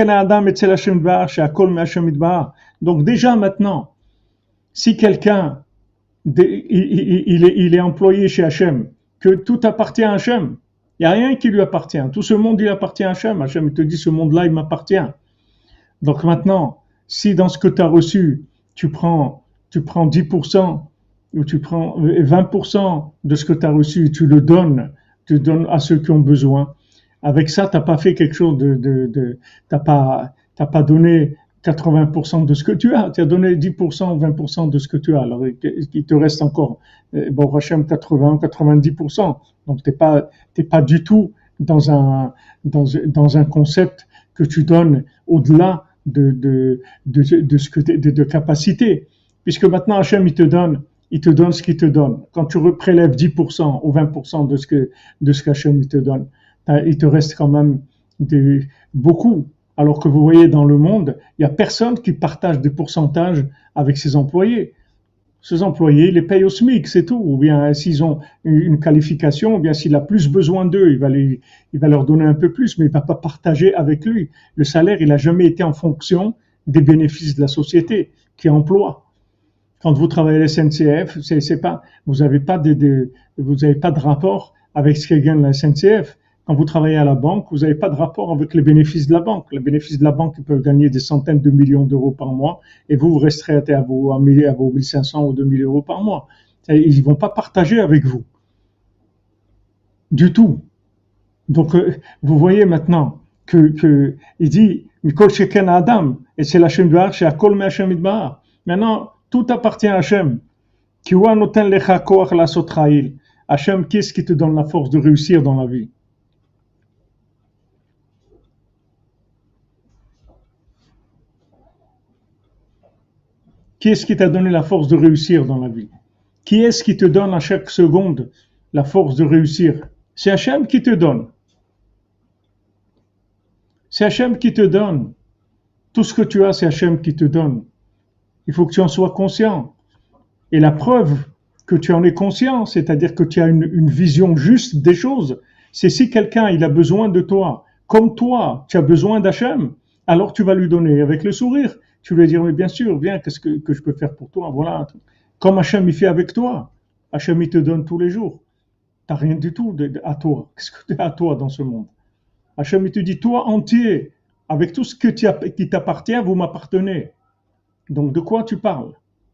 donc déjà maintenant, si quelqu'un il, il, il, est, il est employé chez Hachem, que tout appartient à Hachem, il n'y a rien qui lui appartient. Tout ce monde, il appartient à Hachem. Hachem, il te dit, ce monde-là, il m'appartient. Donc maintenant, si dans ce que tu as reçu, tu prends, tu prends dix pour cent ou tu prends vingt pour cent de ce que tu as reçu, tu le donnes, tu le donnes à ceux qui ont besoin. Avec ça, tu n'as pas fait quelque chose de... de, de tu n'as pas, t'as pas donné quatre-vingts pour cent de ce que tu as. Tu as donné dix pour cent ou vingt pour cent de ce que tu as. Alors, il te reste encore, bon, Hachem, quatre-vingts, quatre-vingt-dix pour cent. Donc, tu n'es pas, t'es pas du tout dans un, dans, dans un concept que tu donnes au-delà de, de, de, de ce que t'es, de, de capacité. Puisque maintenant, Hachem, il te donne, il te donne ce qu'il te donne. Quand tu prélèves dix pour cent ou vingt pour cent de ce que, de ce qu'Hachem, il te donne, il te reste quand même des, beaucoup. Alors que vous voyez dans le monde, il n'y a personne qui partage des pourcentages avec ses employés. Ces employés, ils les payent au SMIC, c'est tout. Ou bien s'ils ont une qualification, ou bien s'il a plus besoin d'eux, il va, les, il va leur donner un peu plus, mais il ne va pas partager avec lui. Le salaire, il n'a jamais été en fonction des bénéfices de la société qui emploie. Quand vous travaillez à la S N C F, c'est, c'est pas, vous n'avez pas de, de, vous n'avez pas de rapport avec ce que gagne la S N C F. Quand vous travaillez à la banque, vous n'avez pas de rapport avec les bénéfices de la banque. Les bénéfices de la banque ils peuvent gagner des centaines de millions d'euros par mois et vous, vous resterez à vos, à vos mille cinq cents ou deux mille euros par mois. Ils ne vont pas partager avec vous. Du tout. Donc, euh, vous voyez maintenant que, que il dit, Mikol Sheken Adam, et c'est l'Hachem Dvar, c'est Akol Me Hachem Idbar. Maintenant, tout appartient à Hachem. Kiwa noten lecha koach lasot cha'il. Hachem, qu'est-ce qui te donne la force de réussir dans la vie? Qui est-ce qui t'a donné la force de réussir dans la vie? Qui est-ce qui te donne à chaque seconde la force de réussir? C'est Hachem qui te donne. C'est Hachem qui te donne. Tout ce que tu as, c'est Hachem qui te donne. Il faut que tu en sois conscient. Et la preuve que tu en es conscient, c'est-à-dire que tu as une, une vision juste des choses, c'est si quelqu'un il a besoin de toi, comme toi, tu as besoin d'Hachem, alors tu vas lui donner avec le sourire. Tu vas lui dire, mais bien sûr, viens, qu'est-ce que, que je peux faire pour toi? Voilà. Comme Hachem il fait avec toi. Hachem il te donne tous les jours. Tu n'as rien du tout de, de, à toi. Qu'est-ce que tu as à toi dans ce monde? Hachem il te dit, toi entier, avec tout ce que tu as, qui t'appartient, vous m'appartenez. Donc de quoi tu parles?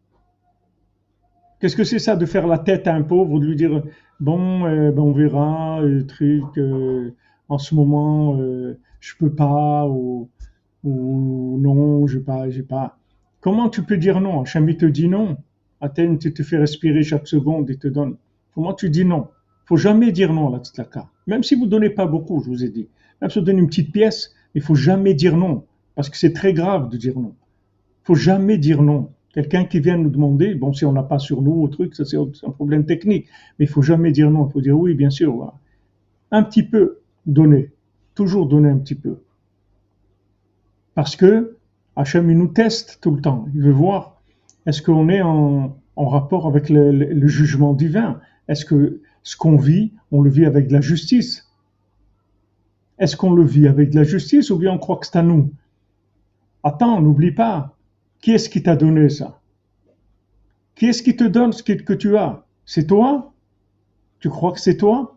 Qu'est-ce que c'est ça de faire la tête à un pauvre, de lui dire bon, euh, ben on verra, le truc, euh, en ce moment, euh, je peux pas, ou, ou non, j'ai pas, j'ai pas. Comment tu peux dire non? Hachem il te dit non. Athènes, tu te fais respirer chaque seconde et te donne. Comment tu dis non? Faut jamais dire non, la tzedaka. Même si vous donnez pas beaucoup, je vous ai dit. Même si vous donnez une petite pièce, il faut jamais dire non. Parce que c'est très grave de dire non. Faut jamais dire non. Quelqu'un qui vient nous demander, bon, si on n'a pas sur nous, au truc, ça c'est un problème technique. Mais il faut jamais dire non. Il faut dire oui, bien sûr. Voilà. Un petit peu donner. Toujours donner un petit peu. Parce que Hachem, il nous teste tout le temps. Il veut voir, est-ce qu'on est en, en rapport avec le, le, le jugement divin? Est-ce que ce qu'on vit, on le vit avec de la justice? Est-ce qu'on le vit avec de la justice ou bien on croit que c'est à nous? Attends, n'oublie pas. Qui est-ce qui t'a donné ça? Qui est-ce qui te donne ce que tu as? C'est toi? Tu crois que c'est toi?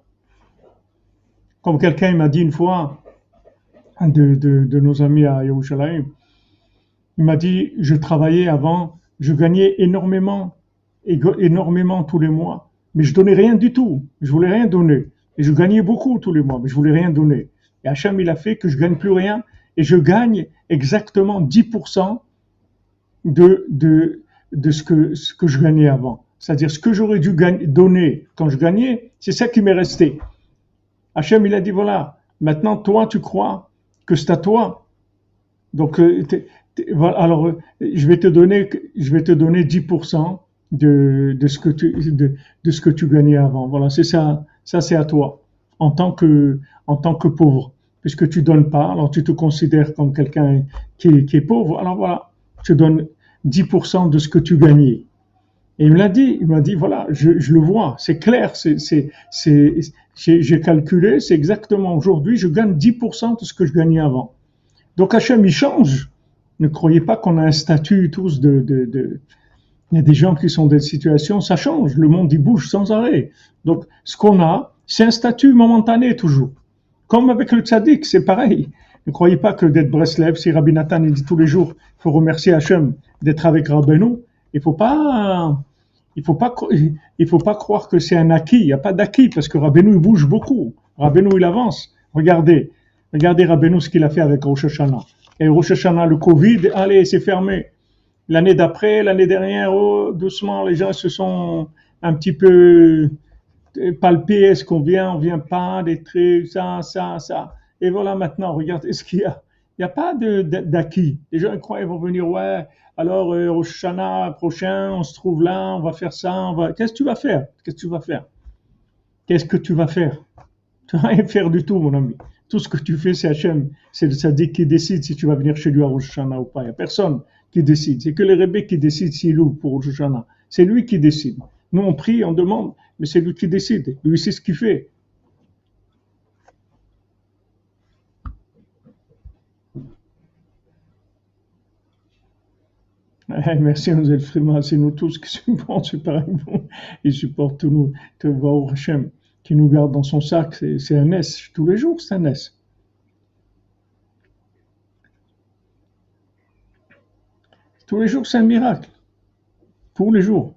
Comme quelqu'un m'a dit une fois, un de, de, de nos amis à Yerushalayim, il m'a dit, je travaillais avant, je gagnais énormément, énormément tous les mois, mais je donnais rien du tout. Je voulais rien donner. Et je gagnais beaucoup tous les mois, mais je voulais rien donner. Et Hachem, il a fait que je gagne plus rien, et je gagne exactement dix pour cent de, de, de ce que, ce que je gagnais avant. C'est-à-dire, ce que j'aurais dû gagner, donner quand je gagnais, c'est ça qui m'est resté. Hachem, il a dit, voilà, maintenant, toi, tu crois que c'est à toi. Donc, t'es, t'es, voilà, alors, je vais te donner, je vais te donner dix pour cent de, de ce que tu, de, de ce que tu gagnais avant. Voilà, c'est ça, ça, c'est à toi. En tant que, en tant que pauvre. Puisque tu donnes pas, alors tu te considères comme quelqu'un qui est, qui est pauvre. Alors voilà, tu donnes dix pour cent de ce que tu gagnais. Et il me l'a dit, il m'a dit, voilà, je, je le vois, c'est clair, c'est, c'est, c'est, j'ai, j'ai calculé, c'est exactement aujourd'hui, je gagne dix pour cent de ce que je gagnais avant. Donc Hachem, il change. Ne croyez pas qu'on a un statut tous de, de, de, il y a des gens qui sont dans des situations, ça change, le monde, il bouge sans arrêt. Donc, ce qu'on a, c'est un statut momentané toujours. Comme avec le tzaddik, c'est pareil. Ne croyez pas que d'être Breslev, si Rabbi Nathan il dit tous les jours, il faut remercier Hachem d'être avec Rabbeinu. Il faut pas, il faut pas, il faut pas croire que c'est un acquis. Il n'y a pas d'acquis parce que Rabbeinu il bouge beaucoup. Rabbeinu il avance. Regardez, regardez Rabbeinu ce qu'il a fait avec Rosh Hashanah. Et Rosh Hashanah, le Covid, allez, c'est fermé. L'année d'après, l'année dernière, oh, doucement, les gens se sont un petit peu palpés. Est-ce qu'on vient, on vient pas, des trucs, ça, ça, ça. Et voilà maintenant, regardez ce qu'il y a. Il n'y a pas de, de, d'acquis. Les gens croient qu'ils vont venir, ouais, alors euh, au Shana prochain, on se trouve là, on va faire ça, on va... Qu'est-ce que tu vas faire? Qu'est-ce que tu vas faire? Qu'est-ce que tu vas faire? Tu vas rien faire du tout, mon ami. Tout ce que tu fais, c'est Hachem. C'est le tzaddik qui décide si tu vas venir chez lui à Rosh Hashanah ou pas. Il n'y a personne qui décide. C'est que les rebbeim qui décident s'il ouvre pour Rosh Hashanah. C'est lui qui décide. Nous, on prie, on demande, mais c'est lui qui décide. Lui, c'est ce qu'il fait. Merci, Nosel Frima. C'est nous tous qui supportent, c'est pareil. Il supporte tous nous. Tu vois, au Hachem, qui nous garde dans son sac. C'est, c'est un S. Tous les jours, c'est un S. Tous les jours, c'est un miracle. Tous les jours.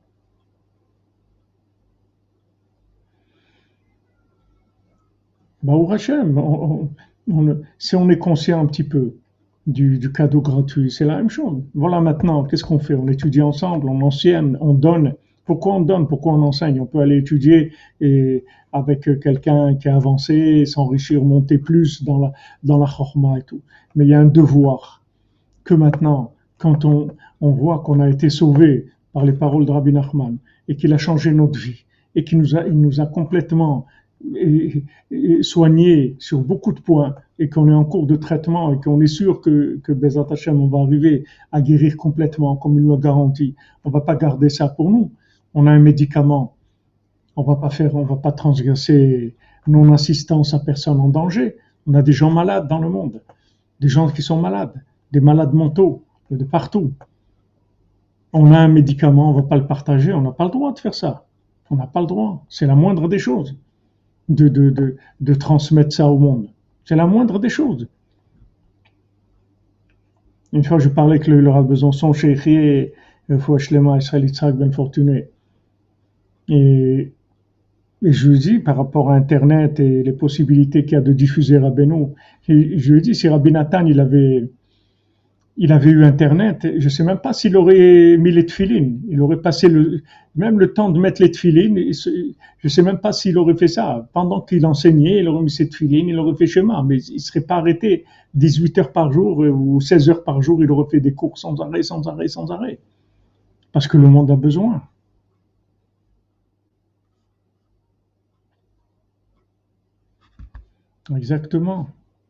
Bah, au Hachem, on, on, on, si on est conscient un petit peu du, du cadeau gratuit, c'est la même chose. Voilà maintenant, qu'est-ce qu'on fait? On étudie ensemble, on enseigne, on donne. Pourquoi on donne? Pourquoi on enseigne? On peut aller étudier et avec quelqu'un qui a avancé, s'enrichir, monter plus dans la, dans la chorma et tout. Mais il y a un devoir que maintenant, quand on, on voit qu'on a été sauvé par les paroles de Rabbi Nachman et qu'il a changé notre vie et qu'il nous a, il nous a complètement et, et soigné sur beaucoup de points, et qu'on est en cours de traitement et qu'on est sûr que, que Bezat Hashem, on va arriver à guérir complètement, comme il nous l'a garanti, on va pas garder ça pour nous. On a un médicament, on va pas faire, on va pas transgresser non-assistance à personne en danger. On a des gens malades dans le monde, des gens qui sont malades, des malades mentaux, de partout. On a un médicament, on va pas le partager, on n'a pas le droit de faire ça. On n'a pas le droit. C'est la moindre des choses de, de, de, de transmettre ça au monde. C'est la moindre des choses. Une fois, je parlais avec le, le Rav Besançon, Cheikhi, Fouach Shlema, Israël Yitzhak Ben Fortuné. Et, et je lui dis, par rapport à Internet et les possibilités qu'il y a de diffuser Rabbeinu, et je lui dis, si Rabbi Nathan, il avait, il avait eu Internet, je ne sais même pas s'il aurait mis les tefilines. Il aurait passé le, même le temps de mettre les tefilines. Je ne sais même pas s'il aurait fait ça. Pendant qu'il enseignait, il aurait mis ses tefilines, il aurait fait schéma, mais il ne serait pas arrêté dix-huit heures par jour ou seize heures par jour. Il aurait fait des cours sans arrêt, sans arrêt, sans arrêt. Parce que le monde a besoin. Exactement.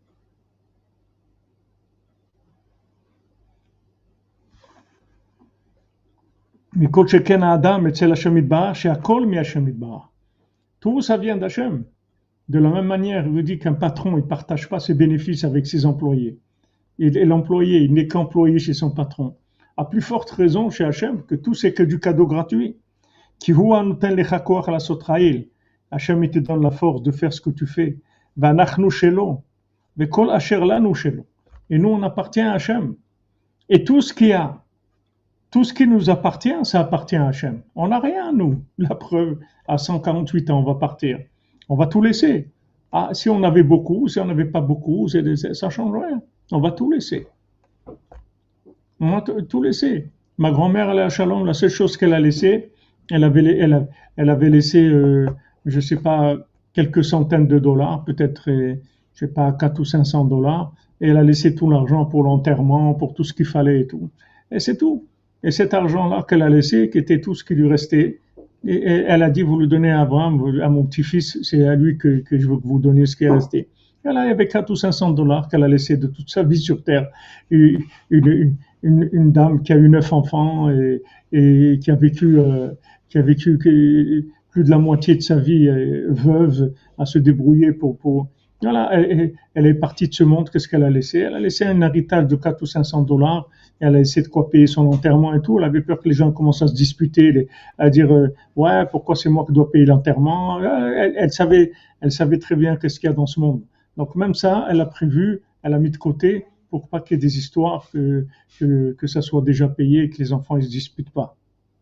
מכל שכן האדם אצל השם יתברך, שהכל מהשם יתברך. Tout ça vient d'Hachem. De la même manière, il vous dit qu'un patron, il ne partage pas ses bénéfices avec ses employés. Et, et l'employé, il n'est qu'employé chez son patron. À plus forte raison chez Hachem, que tout c'est que du cadeau gratuit. Qui voit nous ten lechakoach la sotraïl. Hachem, il te donne la force de faire ce que tu fais. Vanachnu shelo. Vekol asher lanu shelo. Et nous, on appartient à Hachem. Et tout ce qu'il y a, tout ce qui nous appartient, ça appartient à Hachem. On n'a rien, nous. La preuve, à cent quarante-huit ans, on va partir. On va tout laisser. Ah, si on avait beaucoup, si on n'avait pas beaucoup, ça ne change rien. On va tout laisser. On va tout laisser. Ma grand-mère, elle est à Shalom, la seule chose qu'elle a laissée, elle avait, elle, elle avait laissé, euh, je ne sais pas, quelques centaines de dollars, peut-être, euh, je ne sais pas, quatre ou cinq cents dollars, et elle a laissé tout l'argent pour l'enterrement, pour tout ce qu'il fallait et tout. Et c'est tout. Et cet argent-là qu'elle a laissé, qui était tout ce qui lui restait, et, et elle a dit, vous le donnez à Abraham, à mon petit-fils, c'est à lui que, que je veux que vous donniez ce qui est resté. Elle avait quatre ou cinq cents dollars qu'elle a laissé de toute sa vie sur Terre. Une, une, une, une dame qui a eu neuf enfants et, et qui a vécu, euh, qui a vécu plus de la moitié de sa vie euh, veuve, à se débrouiller pour... pour voilà, elle, elle est partie de ce monde, qu'est-ce qu'elle a laissé? Elle a laissé un héritage de quatre ou cinq cents dollars. Elle a essayé de quoi payer son enterrement et tout. Elle avait peur que les gens commencent à se disputer, à dire euh, ouais, pourquoi c'est moi qui dois payer l'enterrement? Elle, elle savait, elle savait très bien qu'est-ce qu'il y a dans ce monde. Donc même ça, elle a prévu, elle a mis de côté pour pas qu'il y ait des histoires que que, que ça soit déjà payé et que les enfants ils se disputent pas.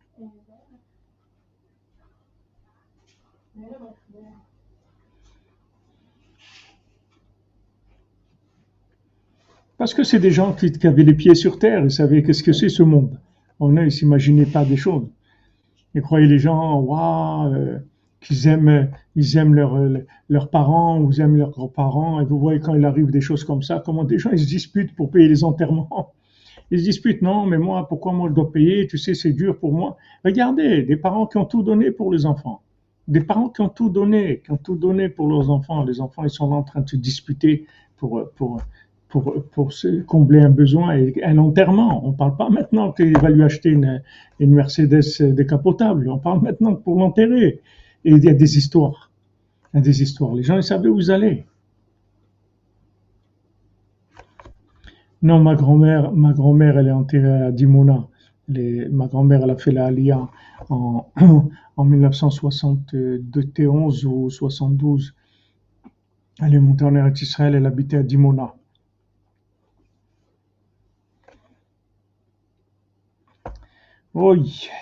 Parce que c'est des gens qui, qui avaient les pieds sur terre, ils savaient qu'est-ce que c'est ce monde. On ne s'imaginaient pas des choses. Ils croyaient les gens, waouh, euh, qu'ils aiment, ils aiment leurs leurs parents ou ils aiment leurs grands-parents. Et vous voyez quand il arrive des choses comme ça, comment des gens ils se disputent pour payer les enterrements. Ils se disputent, non, mais moi, pourquoi moi je dois payer? Tu sais, c'est dur pour moi. Regardez, des parents qui ont tout donné pour les enfants. Des parents qui ont tout donné, qui ont tout donné pour leurs enfants. Les enfants, ils sont là en train de se disputer pour, pour, pour, pour se combler un besoin et un enterrement. On ne parle pas maintenant qu'il va lui acheter une, une Mercedes décapotable. On parle maintenant pour l'enterrer. Et il y a des histoires. Il y a des histoires. Les gens, ils savaient où ils allaient. Non, ma grand-mère, ma grand-mère, elle est enterrée à Dimona. Elle est- ma grand-mère, elle a fait la Aliyah en, en mille neuf cent soixante-onze ou soixante-douze. Elle est montée en Eretz Israël, elle habitait à Dimona. Oui.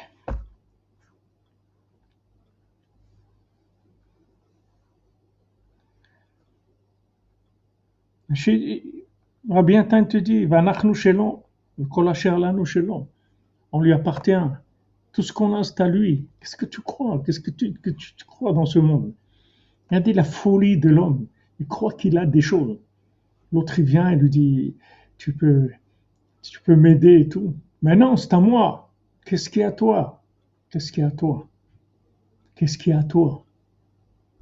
Chez- Rabbi Nathan te dit, Vanachnu shelo, kol asher lanu shelo. On lui appartient. Tout ce qu'on a, c'est à lui. Qu'est-ce que tu crois? Qu'est-ce que tu, que tu, tu crois dans ce monde? Regardez la folie de l'homme. Il croit qu'il a des choses. L'autre, il vient et lui dit, tu peux, tu peux m'aider et tout. Mais non, c'est à moi. Qu'est-ce qui est à toi? Qu'est-ce qui est à toi? Qu'est-ce qui est à toi?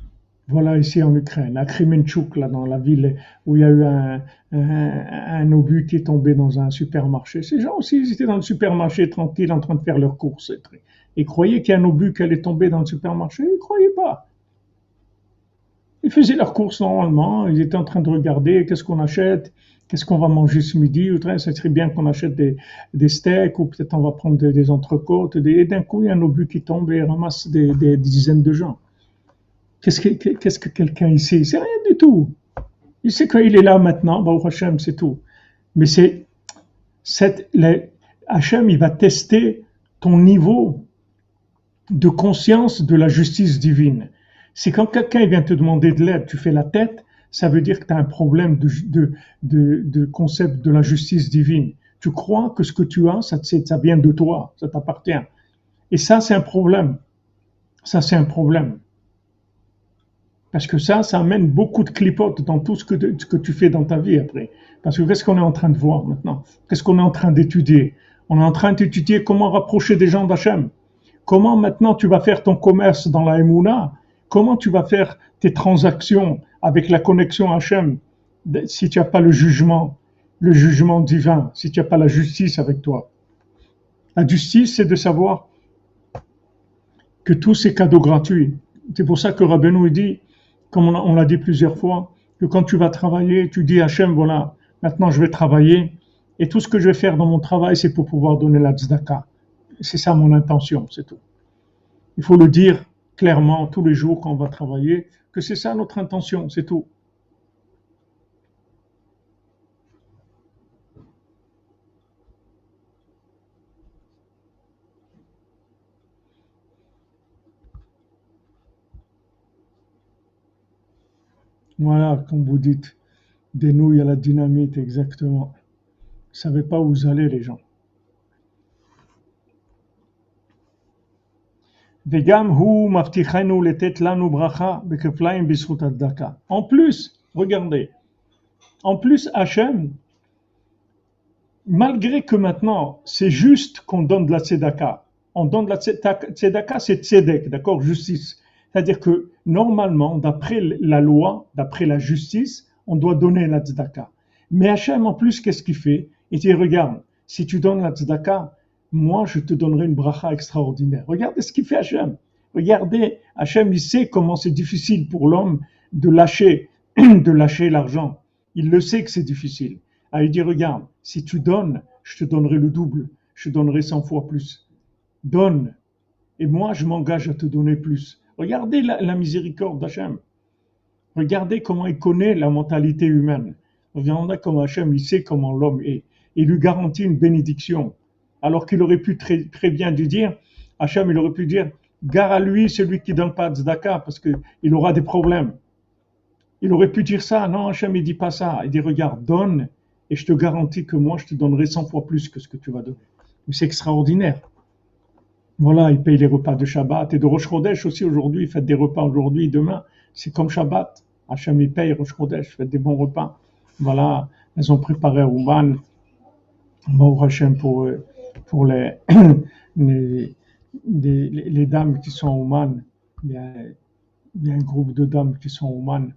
Voilà, ici en Ukraine, à Kremenchuk, là, dans la ville où il y a eu un, un, un obus qui est tombé dans un supermarché. Ces gens aussi, ils étaient dans le supermarché tranquille en train de faire leurs courses. Ils croyaient qu'il y a un obus qui allait tomber dans le supermarché. Ils ne croyaient pas. Ils faisaient leurs courses normalement. Ils étaient en train de regarder qu'est-ce qu'on achète, qu'est-ce qu'on va manger ce midi. Ça serait bien qu'on achète des, des steaks ou peut-être on va prendre des, des entrecôtes. Des, et d'un coup, il y a un obus qui tombe et ramasse des, des dizaines de gens. Qu'est-ce que, qu'est-ce que quelqu'un ici? C'est rien du tout. Il sait qu'il est là maintenant, Baruch Hashem, c'est tout. Mais c'est, cette, les, Hashem, il va tester ton niveau de conscience de la justice divine. C'est quand quelqu'un vient te demander de l'aide, tu fais la tête, ça veut dire que tu as un problème de, de, de, de concept de la justice divine. Tu crois que ce que tu as, ça, ça vient de toi, ça t'appartient. Et ça, c'est un problème. Ça, c'est un problème. Parce que ça, ça amène beaucoup de clipotes dans tout ce que, ce que tu fais dans ta vie après. Parce que qu'est-ce qu'on est en train de voir maintenant? Qu'est-ce qu'on est en train d'étudier? On est en train d'étudier comment rapprocher des gens d'Hachem. Comment maintenant tu vas faire ton commerce dans la Emouna? Comment tu vas faire tes transactions avec la connexion Hachem si tu n'as pas le jugement, le jugement divin, si tu n'as pas la justice avec toi? La justice, c'est de savoir que tous ces cadeaux gratuits. C'est pour ça que Rabbeinu dit, comme on l'a dit plusieurs fois, que quand tu vas travailler, tu dis à Hachem, voilà, maintenant je vais travailler, et tout ce que je vais faire dans mon travail, c'est pour pouvoir donner la tzedaka. C'est ça mon intention, c'est tout. Il faut le dire clairement tous les jours quand on va travailler, que c'est ça notre intention, c'est tout. Voilà, comme vous dites, des nouilles à la dynamite, exactement. Vous ne savez pas où vous allez, les gens. En plus, regardez, en plus, Hachem, malgré que maintenant, c'est juste qu'on donne de la tzedaka, on donne de la tzedaka, c'est tzedek, d'accord, justice. C'est-à-dire que normalement, d'après la loi, d'après la justice, on doit donner la tzedaka. Mais Hachem, en plus, qu'est-ce qu'il fait? Il dit, regarde, si tu donnes la tzedaka, moi, je te donnerai une bracha extraordinaire. Regardez ce qu'il fait Hachem. Regardez, Hachem, il sait comment c'est difficile pour l'homme de lâcher, de lâcher l'argent. Il le sait que c'est difficile. Ah, il dit, regarde, si tu donnes, je te donnerai le double, je te donnerai cent fois plus. Donne, et moi, je m'engage à te donner plus. Regardez la, la miséricorde d'Hachem. Regardez comment il connaît la mentalité humaine. Regardez comment Hachem, il sait comment l'homme est. Il lui garantit une bénédiction. Alors qu'il aurait pu très, très bien lui dire, Hachem, il aurait pu dire, gare à lui, celui qui ne donne pas de tzedaka, parce qu'il aura des problèmes. Il aurait pu dire ça. Non, Hachem, il ne dit pas ça. Il dit, regarde, donne, et je te garantis que moi, je te donnerai cent fois plus que ce que tu vas donner. C'est extraordinaire. Voilà, il paye les repas de Shabbat et de Rosh Chodesh aussi aujourd'hui. Faites des repas aujourd'hui, demain. C'est comme Shabbat. Hachem, il paye Rosh Chodesh. Faites des bons repas. Voilà, elles ont préparé à Ouman. Baruch Hachem pour, pour les, les, les, les dames qui sont à Ouman. Il y a, il y a un groupe de dames qui sont à Ouman.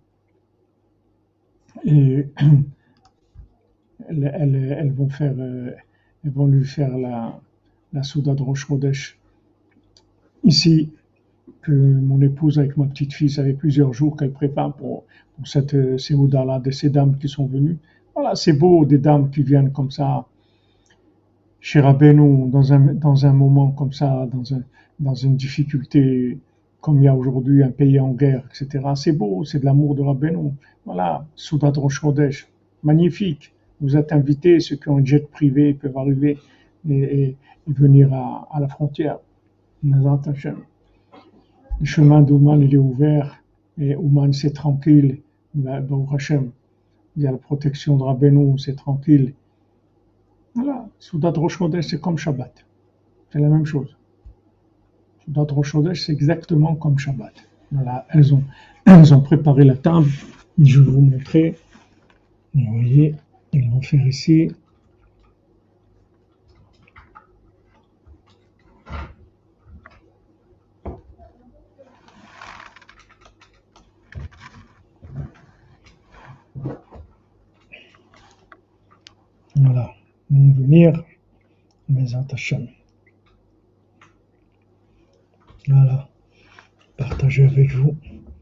Et elles, elles, elles vont faire, elles vont lui faire la, la Souda de Rosh Chodesh. Ici, que mon épouse avec ma petite fille, ça fait plusieurs jours qu'elle prépare pour, pour cette Séouda-là, de ces dames qui sont venues. Voilà, c'est beau, des dames qui viennent comme ça, chez Rabbeinu, dans un, dans un moment comme ça, dans, un, dans une difficulté, comme il y a aujourd'hui un pays en guerre, et cetera. C'est beau, c'est de l'amour de Rabbeinu. Voilà, Souda de Rosh Chodesh, magnifique. Vous êtes invités, ceux qui ont un jet privé peuvent arriver et, et, et venir à, à la frontière. Nazat Hashem. Le chemin d'Ouman, il est ouvert, et Ouman, c'est tranquille. Baruch Hashem, il y a la protection de Rabbeinu, c'est tranquille. Voilà, Soudat Rosh Chodesh, c'est comme Shabbat. C'est la même chose. Soudat Rosh Chodesh, c'est exactement comme Shabbat. Voilà, elles ont, elles ont préparé la table. Je vais vous montrer. Vous voyez, ils vont faire ici. venir, Bezat Hashem. Voilà, partager avec vous.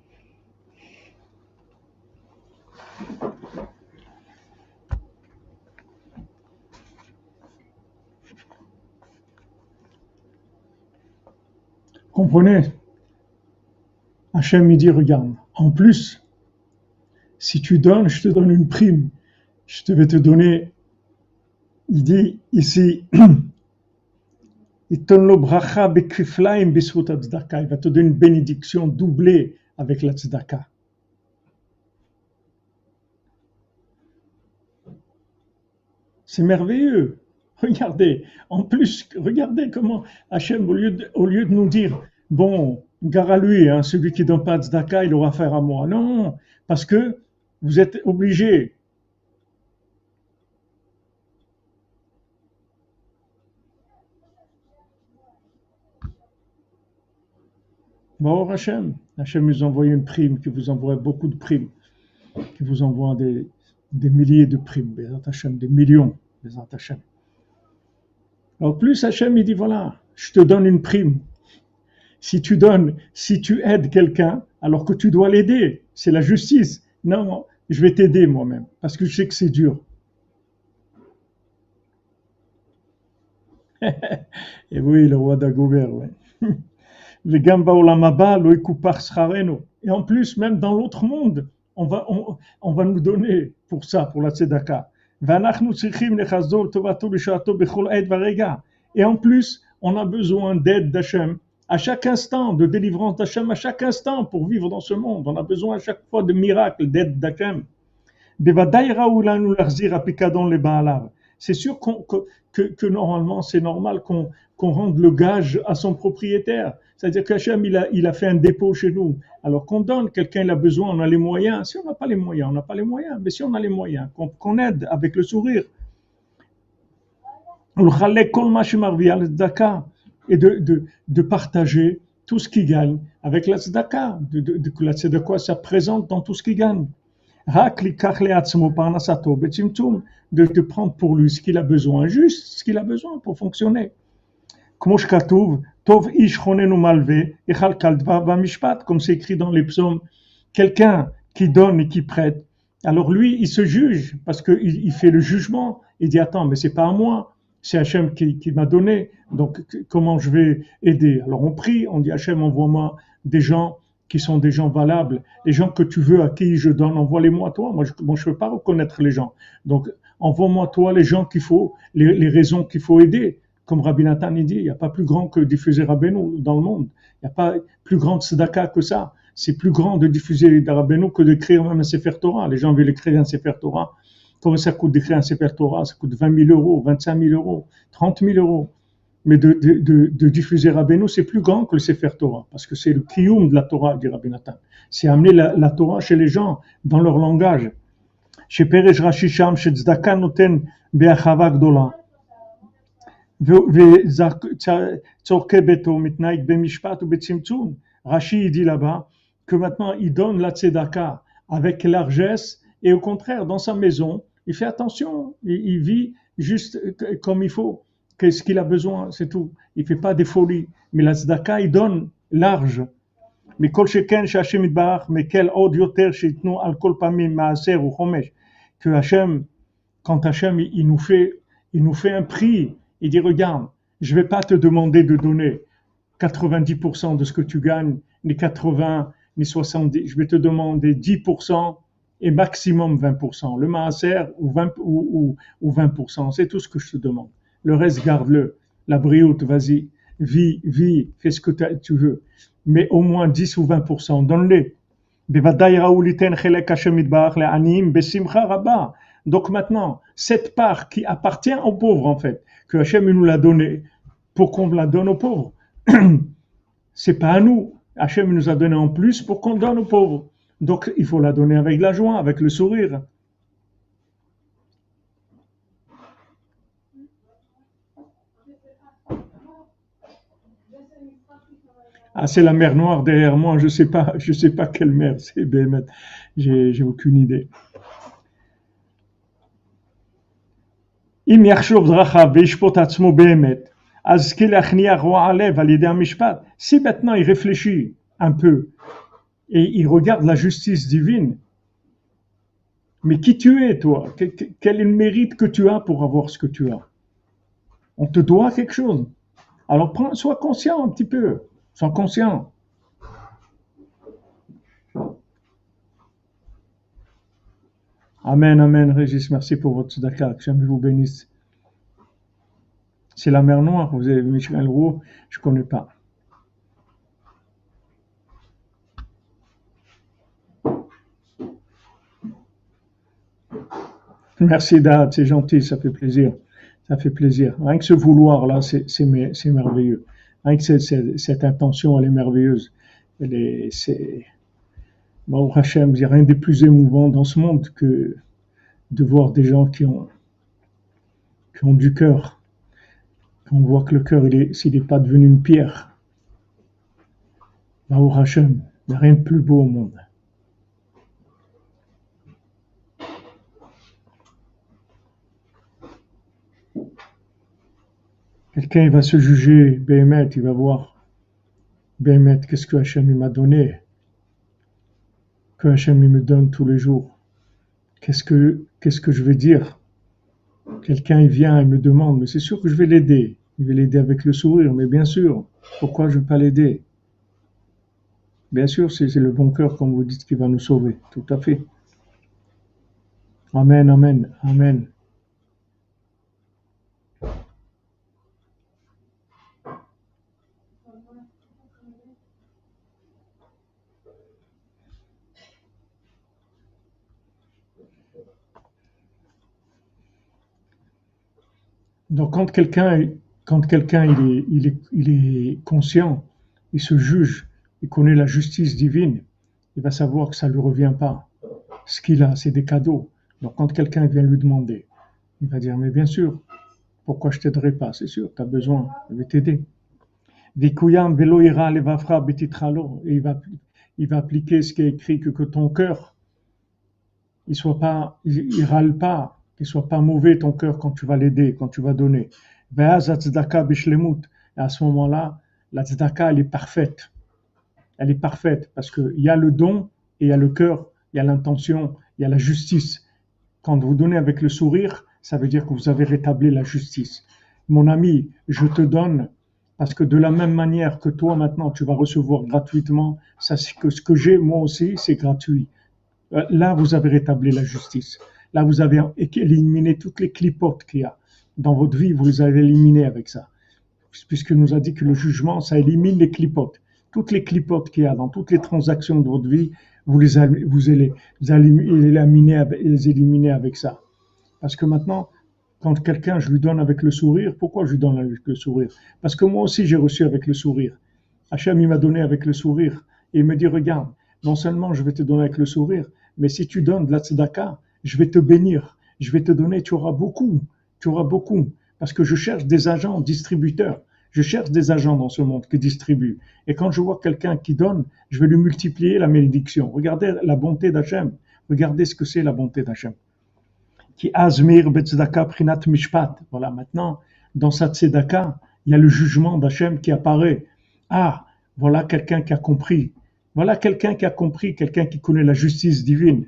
Comprenez? Hachem il dit, regarde, en plus, si tu donnes, je te donne une prime. Je te vais te donner, il dit ici, il va te donner une bénédiction doublée avec la tzedaka. C'est merveilleux. Regardez, en plus, regardez comment Hachem, au lieu de, au lieu de nous dire, bon, gare à lui, hein, celui qui ne donne pas de tzedaka, il aura affaire à moi. Non, parce que vous êtes obligés. Bon, Hachem, Hachem nous envoie une prime, qui vous envoie beaucoup de primes, qui vous envoie des, des milliers de primes, Hachem, des millions, Hachem. En plus, Hachem, il dit, voilà, je te donne une prime. Si tu donnes, si tu aides quelqu'un, alors que tu dois l'aider, c'est la justice. Non, je vais t'aider moi-même, parce que je sais que c'est dur. Et oui, le roi d'Agober, ouais. Et en plus, même dans l'autre monde, on va, on, on va nous donner pour ça, pour la tzedaka. Et en plus, on a besoin d'aide d'Hachem à chaque instant, de délivrance d'Hachem à chaque instant pour vivre dans ce monde. On a besoin à chaque fois de miracles, d'aide d'Hachem. C'est sûr qu'on, que, que, que normalement, c'est normal qu'on, qu'on rende le gage à son propriétaire. C'est-à-dire qu'Hachem, il a, il a fait un dépôt chez nous. Alors qu'on donne, quelqu'un il a besoin, on a les moyens. Si on n'a pas les moyens, on n'a pas les moyens. Mais si on a les moyens, qu'on, qu'on aide avec le sourire. Et de, de, de partager tout ce qu'il gagne avec la tzedaka. De, de, de, la tzedaka, ça présente dans tout ce qu'il gagne. De, de prendre pour lui ce qu'il a besoin, juste ce qu'il a besoin pour fonctionner. Comme c'est écrit dans les psaumes, quelqu'un qui donne et qui prête, alors lui, il se juge parce qu'il il fait le jugement. Il dit, attends, mais c'est pas à moi, c'est Hachem qui, qui m'a donné, donc comment je vais aider? Alors on prie, on dit, Hachem, envoie-moi des gens qui sont des gens valables, les gens que tu veux, à qui je donne, envoie-les-moi toi. Moi, je ne peux pas reconnaître les gens. Donc, envoie-moi toi les gens qu'il faut, les, les raisons qu'il faut aider. Comme Rabbi Nathan dit, il n'y a pas plus grand que diffuser Rabbeinu dans le monde. Il n'y a pas plus grand de tzedaka que ça. C'est plus grand de diffuser Rabbeinu que d'écrire même un Sefer Torah. Les gens veulent écrire un Sefer Torah. Comment ça coûte d'écrire un Sefer Torah? Ça coûte vingt mille euros, vingt-cinq mille euros, trente mille euros. Mais de, de, de, de diffuser Rabbeinu, c'est plus grand que le Sefer Torah, parce que c'est le kiyum de la Torah, dit Rabbi Nathan. C'est amener la, la Torah chez les gens, dans leur langage. Chez Perej Rashi Sham, chez Tzedaka Noten Be'achava Gdola. Tzorke Beto Mitnaik Bemishpat ou Betzimtzum. Rashi, il dit là-bas, que maintenant, il donne la Tzedaka avec largesse, et au contraire, dans sa maison, il fait attention, il, il vit juste comme il faut. Qu'est-ce qu'il a besoin, c'est tout. Il ne fait pas des folies. Mais la tzedaka, il donne large. Mais kol sheken sh'Hashem yitbarach, mais quel od yoter sh'itnu al kol pamim maaser ou chomesh. Que Hachem, quand Hachem, il nous fait, il nous fait un prix, il dit, regarde, je ne vais pas te demander de donner quatre-vingt-dix pour cent de ce que tu gagnes, ni quatre-vingts, ni soixante-dix. Je vais te demander dix pour cent et maximum vingt pour cent. Le maaser ou vingt, ou, ou, ou vingt pour cent, c'est tout ce que je te demande. Le reste, garde-le. La brioute, vas-y. Vis, vis, fais ce que tu veux. Mais au moins dix ou vingt pour cent, donne-les. Donc maintenant, cette part qui appartient aux pauvres, en fait, que Hachem nous l'a donnée, pour qu'on la donne aux pauvres, c'est pas à nous. Hachem nous a donné en plus pour qu'on donne aux pauvres. Donc il faut la donner avec la joie, avec le sourire. Ah, c'est la mer Noire derrière moi, je sais pas, je sais pas quelle mer c'est, Béhémet. J'ai, j'ai aucune idée. אם יחשוב דרכיו וישפוט עצמו באמת, אז כלהכניע רוע הלב על ידי המשפט. Si maintenant il réfléchit un peu et il regarde la justice divine, mais qui tu es toi? Quel est le mérite que tu as pour avoir ce que tu as? On te doit quelque chose. Alors prends, sois conscient un petit peu, sois conscient. Amen, amen, Régis, merci pour votre tzedaka, que jamais vous bénisse. C'est la mer Noire, vous avez Michel Roux, je ne connais pas. Merci Dad, c'est gentil, ça fait plaisir. Ça fait plaisir. Rien que ce vouloir là, c'est, c'est, c'est merveilleux. Rien que cette, cette, cette intention, elle est merveilleuse. Elle est, c'est, Baruch Hashem, il n'y a rien de plus émouvant dans ce monde que de voir des gens qui ont, qui ont du cœur. On voit que le cœur, il est, s'il n'est pas devenu une pierre. Baruch Hashem, il n'y a rien de plus beau au monde. Quelqu'un il va se juger, Béhémet, il va voir, Béhémet, qu'est-ce que Hachem il m'a donné, que Hachem il me donne tous les jours. Qu'est-ce que, qu'est-ce que je vais dire? Quelqu'un il vient, il me demande, mais c'est sûr que je vais l'aider. Il va l'aider avec le sourire, mais bien sûr, pourquoi je ne vais pas l'aider? Bien sûr, c'est, c'est le bon cœur, comme vous dites, qui va nous sauver, tout à fait. Amen, amen, amen. Donc quand quelqu'un, quand quelqu'un il est, il est, il est conscient, il se juge, il connaît la justice divine, il va savoir que ça ne lui revient pas. Ce qu'il a, c'est des cadeaux. Donc quand quelqu'un vient lui demander, il va dire, mais bien sûr, pourquoi je ne t'aiderai pas? C'est sûr, tu as besoin, je vais t'aider. Et il va, il va appliquer ce qui est écrit, que, que ton cœur, il soit pas, il, il râle pas, qu'il soit pas mauvais ton cœur quand tu vas l'aider, quand tu vas donner. Et à ce moment-là, la tzedaka, elle est parfaite. Elle est parfaite parce qu'il y a le don et il y a le cœur, il y a l'intention, il y a la justice. Quand vous donnez avec le sourire, ça veut dire que vous avez rétabli la justice. Mon ami, je te donne parce que de la même manière que toi maintenant, tu vas recevoir gratuitement, ça, c'est que ce que j'ai moi aussi, c'est gratuit. Là, vous avez rétabli la justice. Là, vous avez éliminé toutes les clipotes qu'il y a dans votre vie, vous les avez éliminées avec ça. Puisqu'il nous a dit que le jugement, ça élimine les clipotes. Toutes les clipotes qu'il y a dans toutes les transactions de votre vie, vous les, vous les, vous éliminez, les éliminez avec ça. Parce que maintenant, quand quelqu'un, je lui donne avec le sourire, pourquoi je lui donne avec le sourire? Parce que moi aussi, j'ai reçu avec le sourire. Hachem, il m'a donné avec le sourire. Et il me dit, regarde, non seulement je vais te donner avec le sourire, mais si tu donnes de la tzedaka, je vais te bénir, je vais te donner, tu auras beaucoup, tu auras beaucoup, parce que je cherche des agents distributeurs, je cherche des agents dans ce monde qui distribuent. Et quand je vois quelqu'un qui donne, je vais lui multiplier la bénédiction. Regardez la bonté d'Hachem, regardez ce que c'est la bonté d'Hachem. Qui azmir betzedaka prinat mishpat. Voilà, maintenant, dans sa tzedaka, il y a le jugement d'Hachem qui apparaît. Ah, voilà quelqu'un qui a compris. Voilà quelqu'un qui a compris, quelqu'un qui connaît la justice divine.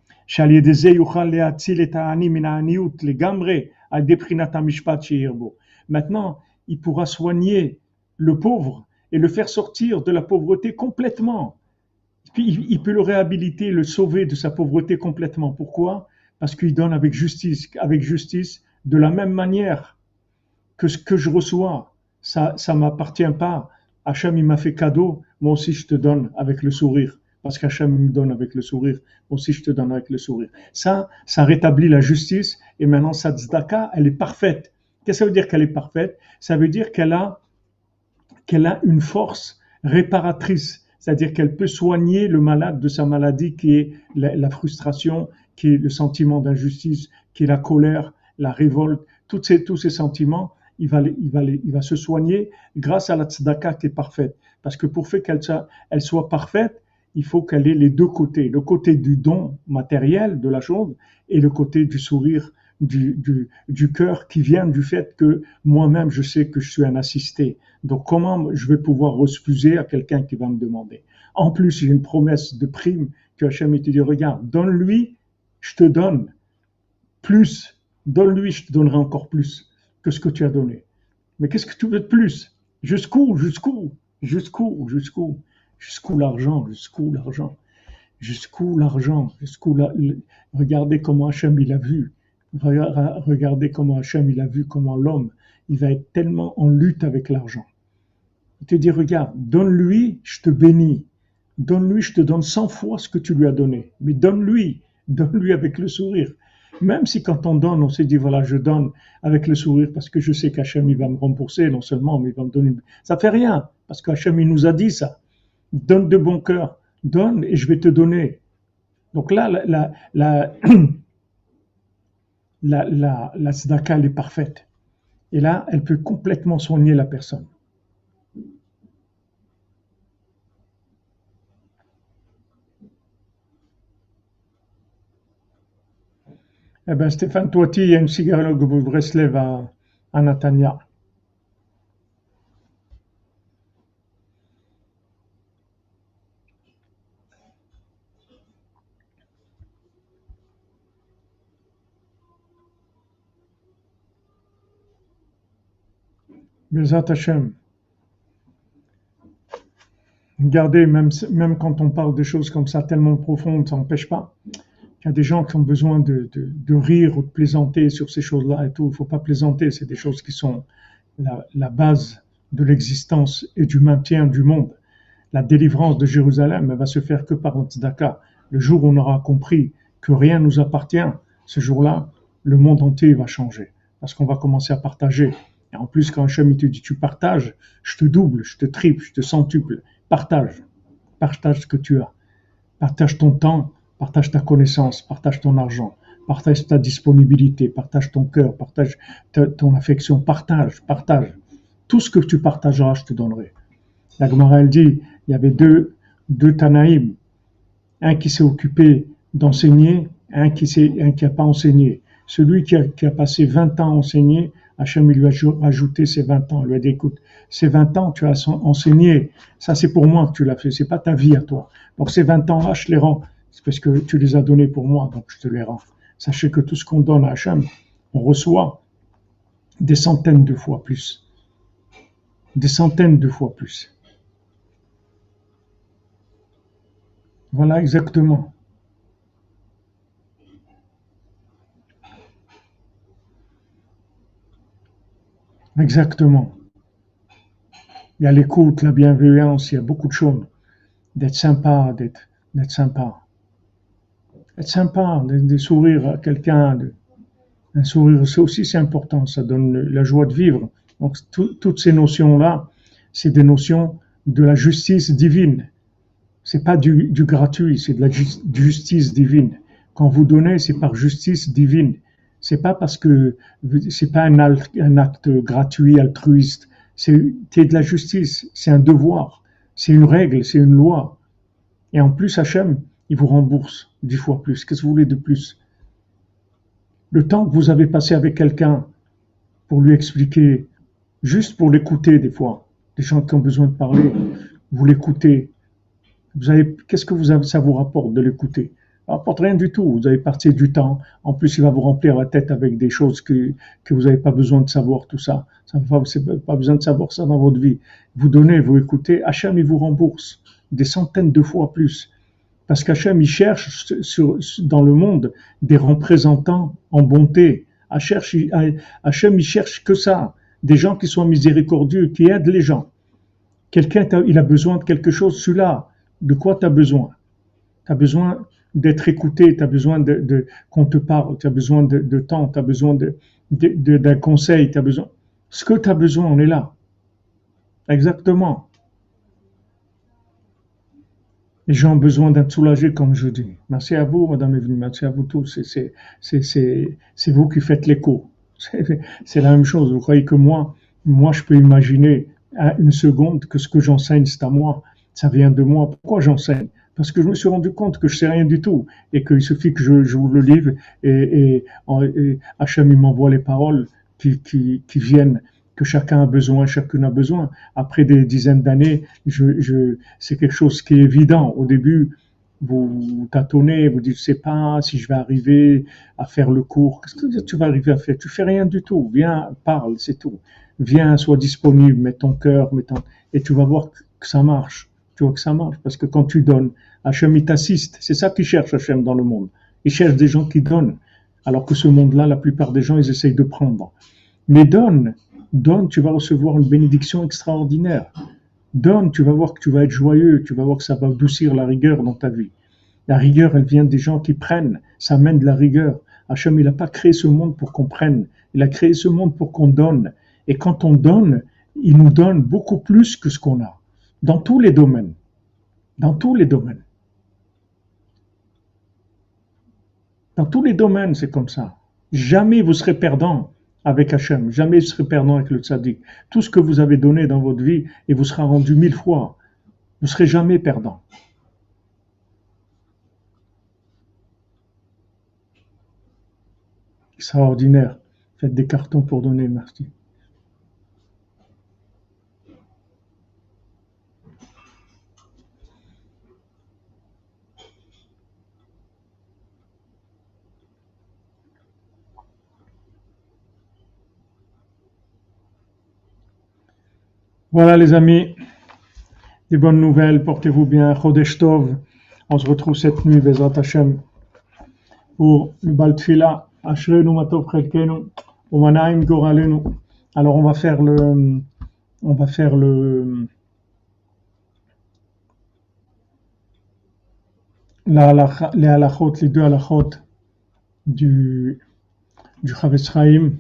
Maintenant, il pourra soigner le pauvre et le faire sortir de la pauvreté complètement. Il peut le réhabiliter, le sauver de sa pauvreté complètement. Pourquoi? Parce qu'il donne avec justice, avec justice, de la même manière que ce que je reçois. Ça, ça m'appartient pas. Hachem, il m'a fait cadeau. Moi aussi, je te donne avec le sourire. Parce qu'Hachem me donne avec le sourire, moi aussi je te donne avec le sourire. Ça, ça rétablit la justice, et maintenant sa tzedaka, elle est parfaite. Qu'est-ce que ça veut dire qu'elle est parfaite? Ça veut dire qu'elle a, qu'elle a une force réparatrice, c'est-à-dire qu'elle peut soigner le malade de sa maladie qui est la, la frustration, qui est le sentiment d'injustice, qui est la colère, la révolte, tous ces, tous ces sentiments, il va, il, va, il va se soigner grâce à la tzedaka qui est parfaite. Parce que pour faire qu'elle soit, elle soit parfaite, il faut qu'elle ait les deux côtés, le côté du don matériel de la chose et le côté du sourire du, du, du cœur qui vient du fait que moi-même je sais que je suis un assisté. Donc comment je vais pouvoir refuser à quelqu'un qui va me demander? En plus, j'ai une promesse de prime que Hachem te dit, regarde, donne-lui, je te donne plus, donne-lui, je te donnerai encore plus que ce que tu as donné. Mais qu'est-ce que tu veux de plus? Jusqu'où? Jusqu'où? Jusqu'où? Jusqu'où? Jusqu'où l'argent? Jusqu'où l'argent? Jusqu'où l'argent? Jusqu'où la... Regardez comment Hachem il a vu. Regardez comment Hachem il a vu comment l'homme il va être tellement en lutte avec l'argent. Il te dit, regarde, donne-lui, je te bénis. Donne-lui, je te donne cent fois ce que tu lui as donné. Mais donne-lui, donne-lui avec le sourire. Même si quand on donne, on s'est dit, voilà, je donne avec le sourire parce que je sais qu'Hachem il va me rembourser, non seulement, mais il va me donner. Ça fait rien, parce qu'Hachem il nous a dit ça. Donne de bon cœur, donne et je vais te donner. Donc là, la, la, la, la, la, la tzedaka, elle est parfaite. Et là, elle peut complètement soigner la personne. Eh bien, Stéphane Toiti, il y a une synagogue de Breslev à, à Natania. Bezat Hashem. Regardez, même, même quand on parle de choses comme ça tellement profondes, ça n'empêche pas. Il y a des gens qui ont besoin de, de, de rire ou de plaisanter sur ces choses-là et tout. Il ne faut pas plaisanter, c'est des choses qui sont la, la base de l'existence et du maintien du monde. La délivrance de Jérusalem, elle va se faire que par un tzedaka. Le jour où on aura compris que rien ne nous appartient, ce jour-là, le monde entier va changer. Parce qu'on va commencer à partager. Et en plus, quand Hachem te dit tu partages, je te double, je te triple, je te centuple. Partage. Partage ce que tu as. Partage ton temps, partage ta connaissance, partage ton argent, partage ta disponibilité, partage ton cœur, partage ta, ton affection, partage, partage. Tout ce que tu partageras, je te donnerai. La Gemara, elle dit, il y avait deux, deux Tanaïm, un qui s'est occupé d'enseigner, un qui s'est, un qui n'a pas enseigné. Celui qui a, qui a passé vingt ans à enseigner, Hachem lui a ajouté ses vingt ans. Il lui a dit, écoute, ces vingt ans, tu as enseigné. Ça, c'est pour moi que tu l'as fait. C'est pas ta vie à toi. Donc, ces vingt ans-là, je les rends. C'est parce que tu les as donnés pour moi, donc je te les rends. Sachez que tout ce qu'on donne à Hachem, on reçoit des centaines de fois plus. Des centaines de fois plus. Voilà exactement. Exactement. Il y a l'écoute, la bienveillance, il y a beaucoup de choses. D'être sympa, d'être, d'être sympa. Être sympa, de, de sourire à quelqu'un. De, un sourire, ça aussi c'est important, ça donne la joie de vivre. Donc tout, toutes ces notions-là, c'est des notions de la justice divine. C'est pas du, du gratuit, c'est de la ju- justice divine. Quand vous donnez, c'est par justice divine. C'est pas parce que c'est pas un, al- un acte gratuit, altruiste. C'est, c'est de la justice, c'est un devoir, c'est une règle, c'est une loi. Et en plus, Hachem, il vous rembourse dix fois plus. Qu'est-ce que vous voulez de plus? Le temps que vous avez passé avec quelqu'un pour lui expliquer, juste pour l'écouter des fois, des gens qui ont besoin de parler, vous l'écoutez. Vous avez, qu'est-ce que vous avez, ça vous rapporte de l'écouter? Ça rapporte rien du tout. Vous avez passé du temps. En plus, il va vous remplir la tête avec des choses que, que vous n'avez pas besoin de savoir, tout ça. Ça vous n'avez pas besoin de savoir ça dans votre vie. Vous donnez, vous écoutez. Hachem, il vous rembourse des centaines de fois plus. Parce qu'Hachem, il cherche sur, dans le monde des représentants en bonté. Hachem, il cherche que ça. Des gens qui sont miséricordieux, qui aident les gens. Quelqu'un, il a besoin de quelque chose, celui-là. De quoi tu as besoin? Tu as besoin d'être écouté, tu as besoin de, de, qu'on te parle, tu as besoin de, de temps, tu as besoin de, de, de, d'un conseil, tu as besoin. Ce que tu as besoin, on est là. Exactement. Les gens ont besoin d'être soulagés, comme je dis. Merci à vous, Madame Evelyne, merci à vous tous. C'est, c'est, c'est, c'est, c'est vous qui faites l'écho. C'est, c'est la même chose. Vous croyez que moi, moi, je peux imaginer à une seconde que ce que j'enseigne, c'est à moi. Ça vient de moi. Pourquoi j'enseigne? Parce que je me suis rendu compte que je sais rien du tout et qu'il suffit que je j'ouvre le livre et, et, et Hachem il m'envoie les paroles qui, qui, qui viennent, que chacun a besoin, chacune a besoin. Après des dizaines d'années, je, je, c'est quelque chose qui est évident. Au début, vous, vous tâtonnez, vous dites, je sais pas si je vais arriver à faire le cours. Qu'est-ce que tu vas arriver à faire? Tu fais rien du tout. Viens, parle, c'est tout. Viens, sois disponible, mets ton cœur, mets ton... et tu vas voir que ça marche. Tu vois que ça marche, parce que quand tu donnes, Hachem il t'assiste. C'est ça qu'il cherche Hachem dans le monde. Il cherche des gens qui donnent. Alors que ce monde-là, la plupart des gens, ils essayent de prendre. Mais donne, donne, tu vas recevoir une bénédiction extraordinaire. Donne, tu vas voir que tu vas être joyeux, tu vas voir que ça va adoucir la rigueur dans ta vie. La rigueur, elle vient des gens qui prennent, ça amène de la rigueur. Hachem, il n'a pas créé ce monde pour qu'on prenne, il a créé ce monde pour qu'on donne. Et quand on donne, il nous donne beaucoup plus que ce qu'on a. Dans tous les domaines. Dans tous les domaines. Dans tous les domaines, c'est comme ça. Jamais vous serez perdant avec Hachem. Jamais vous serez perdant avec le tzaddik. Tout ce que vous avez donné dans votre vie, il vous sera rendu mille fois. Vous ne serez jamais perdant. Extraordinaire. Faites des cartons pour donner, merci. Voilà les amis, des bonnes nouvelles, portez-vous bien, Chodesh Tov. On se retrouve cette nuit, Bezrat Hashem, pour le Bal Tfila, Ashrenu Matov Chelkenu, Umanaim Goralenu. Alors on va faire le, on va faire le, la halakha, les halachot, les deux halachot du, du Chavetz Chaim.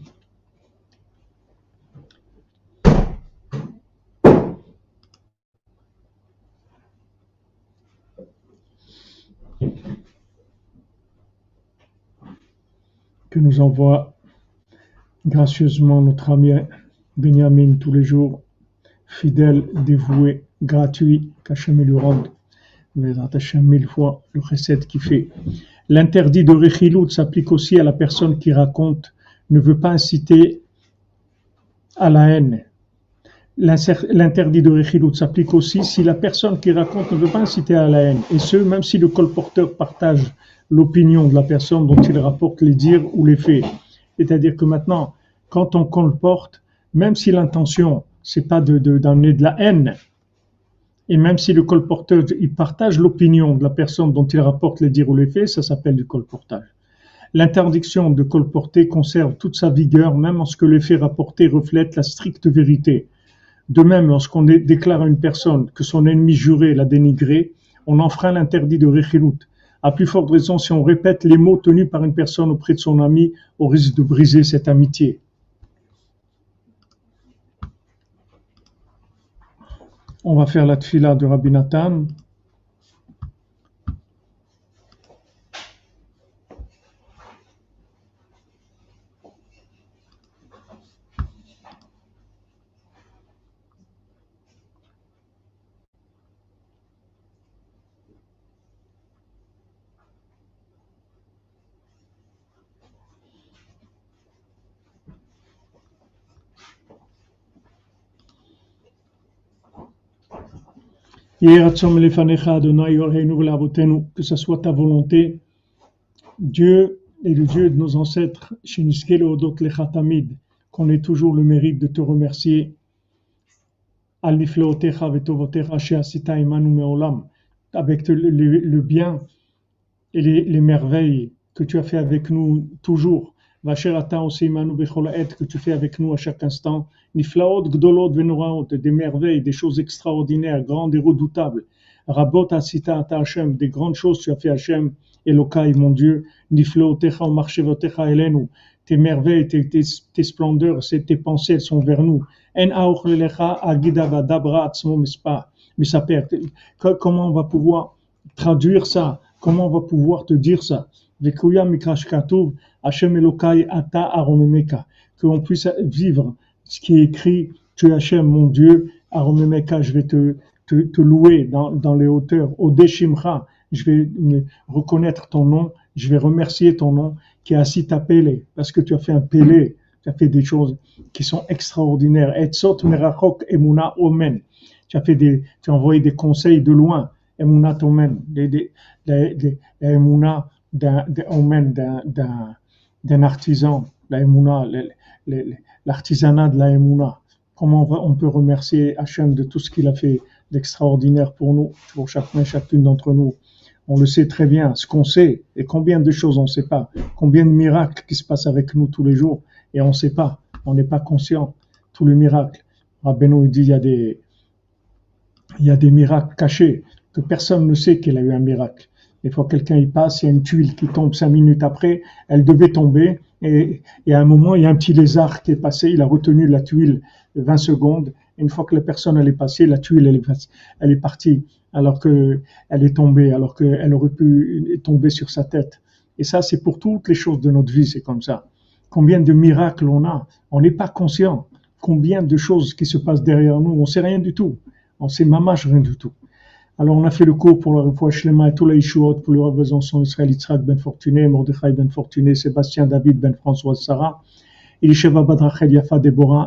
Que nous envoie gracieusement notre ami Benjamin tous les jours, fidèle, dévoué, gratuit, qu'Hachem lui rende, mais Hachem mille fois le chesed qu'il fait. L'interdit de Rechilut s'applique aussi à la personne qui raconte, ne veut pas inciter à la haine. L'interdit de Rechilut s'applique aussi si la personne qui raconte ne veut pas inciter à la haine, et ce, même si le colporteur partage l'opinion de la personne dont il rapporte les dires ou les faits. C'est-à-dire que maintenant, quand on colporte, même si l'intention, c'est pas de, de, d'amener de la haine, et même si le colporteur, il partage l'opinion de la personne dont il rapporte les dires ou les faits, ça s'appelle du colportage. L'interdiction de colporter conserve toute sa vigueur, même lorsque les faits rapportés reflètent la stricte vérité. De même, lorsqu'on déclare à une personne que son ennemi juré l'a dénigré, on enfreint l'interdit de Rechilut. À plus forte raison, si on répète les mots tenus par une personne auprès de son ami, on risque de briser cette amitié. On va faire la tfila de Rabbi Nathan. Que ce soit ta volonté, Dieu est le Dieu de nos ancêtres, qu'on ait toujours le mérite de te remercier, avec le, le, le bien et les, les merveilles que tu as fait avec nous toujours, que tu fais avec nous à chaque instant, des merveilles, des choses extraordinaires, grandes et redoutables. Rabot asita ata Hashem, des grandes choses tu as fait Hashem, Elokai mon Dieu, niflaotecha u'marchevotecha elenu, tes merveilles, tes, tes, tes splendeurs, tes pensées, elles sont vers nous. En aochlelecha agida vadabra atzmo mispa, misaper. Comment on va pouvoir traduire ça? Comment on va pouvoir te dire ça? Vekuya mikrash katuv, Hashem Elokai ata aromemeka, que on puisse vivre ce qui est écrit, tu es Hashem mon Dieu, aromemeka, je vais te, te te, te louer dans, dans les hauteurs. Odeh Shimcha, je vais reconnaître ton nom, je vais remercier ton nom, qui a assis ta pélé, parce que tu as fait un pélé, tu as fait des choses qui sont extraordinaires. Etzot merachok emuna omen. Tu as fait des, tu as envoyé des conseils de loin. Emuna omen, des, des, des, des, la emuna d'un, omen, d'un, d'un, d'un artisan, la emuna, l'artisanat de la emuna. Comment on, va, on peut remercier Hachem de tout ce qu'il a fait d'extraordinaire pour nous, pour chacun et chacune d'entre nous. On le sait très bien, ce qu'on sait, et combien de choses on ne sait pas, combien de miracles qui se passent avec nous tous les jours, et on ne sait pas, on n'est pas conscient, tous les miracles. Rabbeinu dit, il y a des, il y a des miracles cachés, que personne ne sait qu'il a eu un miracle. Des fois, quelqu'un y passe, il y a une tuile qui tombe cinq minutes après, elle devait tomber, et, et à un moment, il y a un petit lézard qui est passé, il a retenu la tuile vingt secondes, et une fois que la personne elle est passée, la tuile elle est, elle est partie, alors qu'elle est tombée, alors qu'elle aurait pu tomber sur sa tête. Et ça, c'est pour toutes les choses de notre vie, c'est comme ça. Combien de miracles on a, on n'est pas conscient. Combien de choses qui se passent derrière nous, on ne sait rien du tout. On sait mamache rien du tout. Alors on a fait le cours pour le Refoua Shlema et tous les Ishuot, pour le Rav Besançon, Israël Yitzhak Ben Fortuné, Mordechai Ben Fortuné, Sébastien David Ben François Sarah, Elisheva Badrachel Yafa Deborah,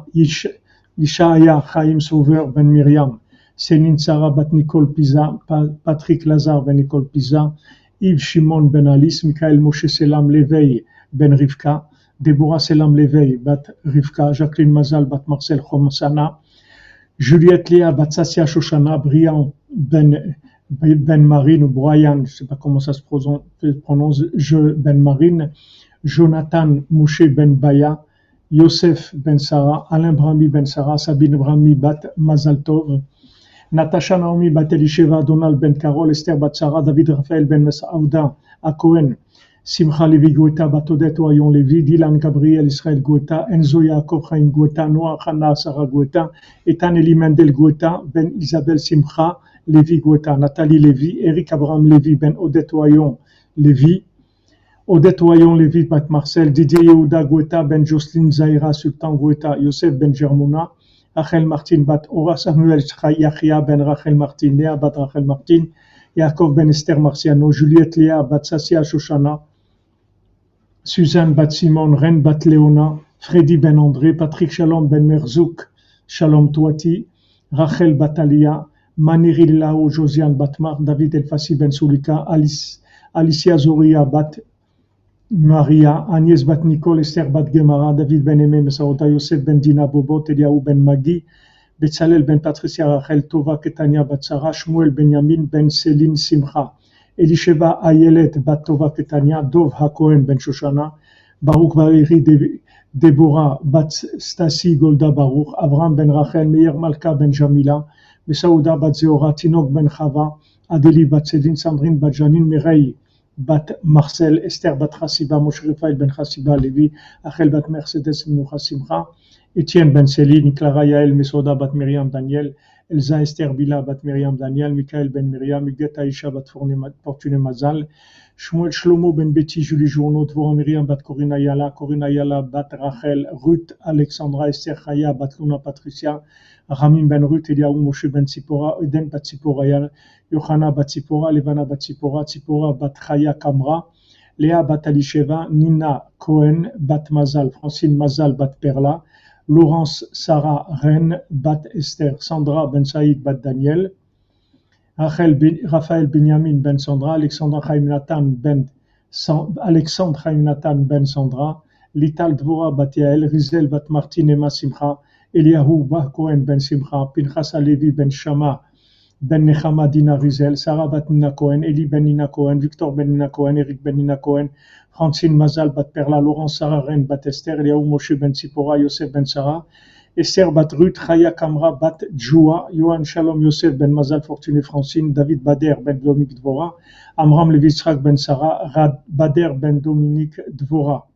Yishaya Chaim Sauveur Ben Myriam, Céline Sarah Bat Nicole Pisa, Patrick Lazare Ben Nicole Pisa, Yves Shimon Ben Alice, Michael Moshe Selam Leveil Ben Rivka, Deborah Selam Leveil Bat Rivka, Jacqueline Mazal Bat Marcel Chomsana, Juliette Léa Bat Sassia Shoshana, Brian Ben, Ben Marine ou Brian, je ne sais pas comment ça se prononce, je Ben Marine, Jonathan Moshe Ben Baya, Yosef Ben Sarah, Alain Brahmi Ben Sarah, Sabine Brahmi Bat Mazal Tov, Natasha Naomi Bat Elisheva, Donald Ben Carol, Esther Bat Sarah, David Raphaël Ben Mesaouda, Akohen, Simcha Levi Goueta, Bat Odette Oyon Levi, Dylan Gabriel Israël Goueta, Enzo Yaakov Chaim Goueta, Noah Hana Sarah Goueta, Ethan Eli Mendel Goueta, Ben Isabelle Simcha Levi Goueta, Nathalie Levi, Eric Abraham Levi, Ben Odette Oyon Levi, Odette Oyon Levi Bat Marcel, Didier Yehuda Goueta, Ben Jocelyne Zaira Sultan Goueta, Yosef Ben Germouna, Rachel Martin Bat Ora Samuel Yachia Ben Rachel Martin, Léa Bat Rachel Martin, Yaakov Ben Esther Marciano, Juliette Léa Bat Sassia Shoshana, Suzanne Bat Simon, Ren Bat Léona, Freddy Ben André, Patrick Shalom Ben Merzouk, Shalom Touati, Rachel Bat Alia, Maniri Lao, Josiane Batmar, David Elfassi Ben Soulika, Alice, Alicia Zoria Bat Maria, Agnès Bat Nicole, Esther Bat Gemara, David Ben Aimé, Mesaota, Yosef Ben Dina Bobot, Eliaou Ben Magi, Betzalel Ben Patricia Rachel, Tova Ketania Bat Sarah, Shmuel Benyamin Ben Céline Simcha, Elisheva Ayelet Bat Tova Ketania, Dov Hakohen Ben Shoshana, Baruch Valeri Deborah Bat Stasi Golda Baruch, Avram Ben Rachel, Meir Malka Ben Jamila, Mesaouda Bat Zeora, Tinok Ben Chava, Adeli Bat Céline, Sandrine Bat Janine, Mireille Bat Marcel, Esther Bat Chassiba, Moshe Rafael Ben Chassiba Levi, Achel Bat Mercedes Minoucha Simcha, Étienne Ben Céline, Clara Yael Mesoda Bat Myriam Daniel, Elsa Esther Bila Bat Myriam Daniel, Michael Ben Myriam, Huguette Aïcha Bat Fortuné Mazal, Shmuel Shlomo Ben Betty, Julie Journaud, Dvorah Myriam Bat Corina Yala, Corina Yala Bat Rachel, Ruth Alexandra Esther Chaya Bat Luna Patricia, Ramim Ben Ruth, Eliaou Moshe Ben Tzipora, Eden Bat Tzipora, Yohana Bat Tzipora, Levana Bat Tzipora, Tzipora Bat Chaya Kamra, Léa Bat Alisheva, Nina Cohen Bat Mazal, Francine Mazal Bat Perla, Laurence Sarah Ren Bat Esther, Sandra Ben Saïd Bat Daniel, Rachel ben, Raphaël Benyamin Ben Sandra, Alexandra Chaim Nathan Ben Alexandre Chaim Nathan Ben Sandra, Lital Dvora Bat Yael, Rizel Bat Martin Emma Simcha, Eliahu Bat Cohen Ben Simcha, Pinchas Alevi Ben Shama Ben Nechama Dina Rizel, Sarah Bat Nina Cohen, Eli Ben Nina Cohen, Victor Ben Nina Cohen, Eric Ben Nina Cohen, Francine Mazal Bat Perla, Laurence Sarah Ren Bat Esther, Eliaou Moshe Ben Tzipora, Yosef Ben Sarah, Esther Bat Ruth, Chaya Kamra Bat Djoua, Yohan Shalom Yosef Ben Mazal Fortuné Francine, David Bader Ben Dominique Dvora, Amram Levi Yitzhak Ben Sarah, Rad Bader Ben Dominique Dvora.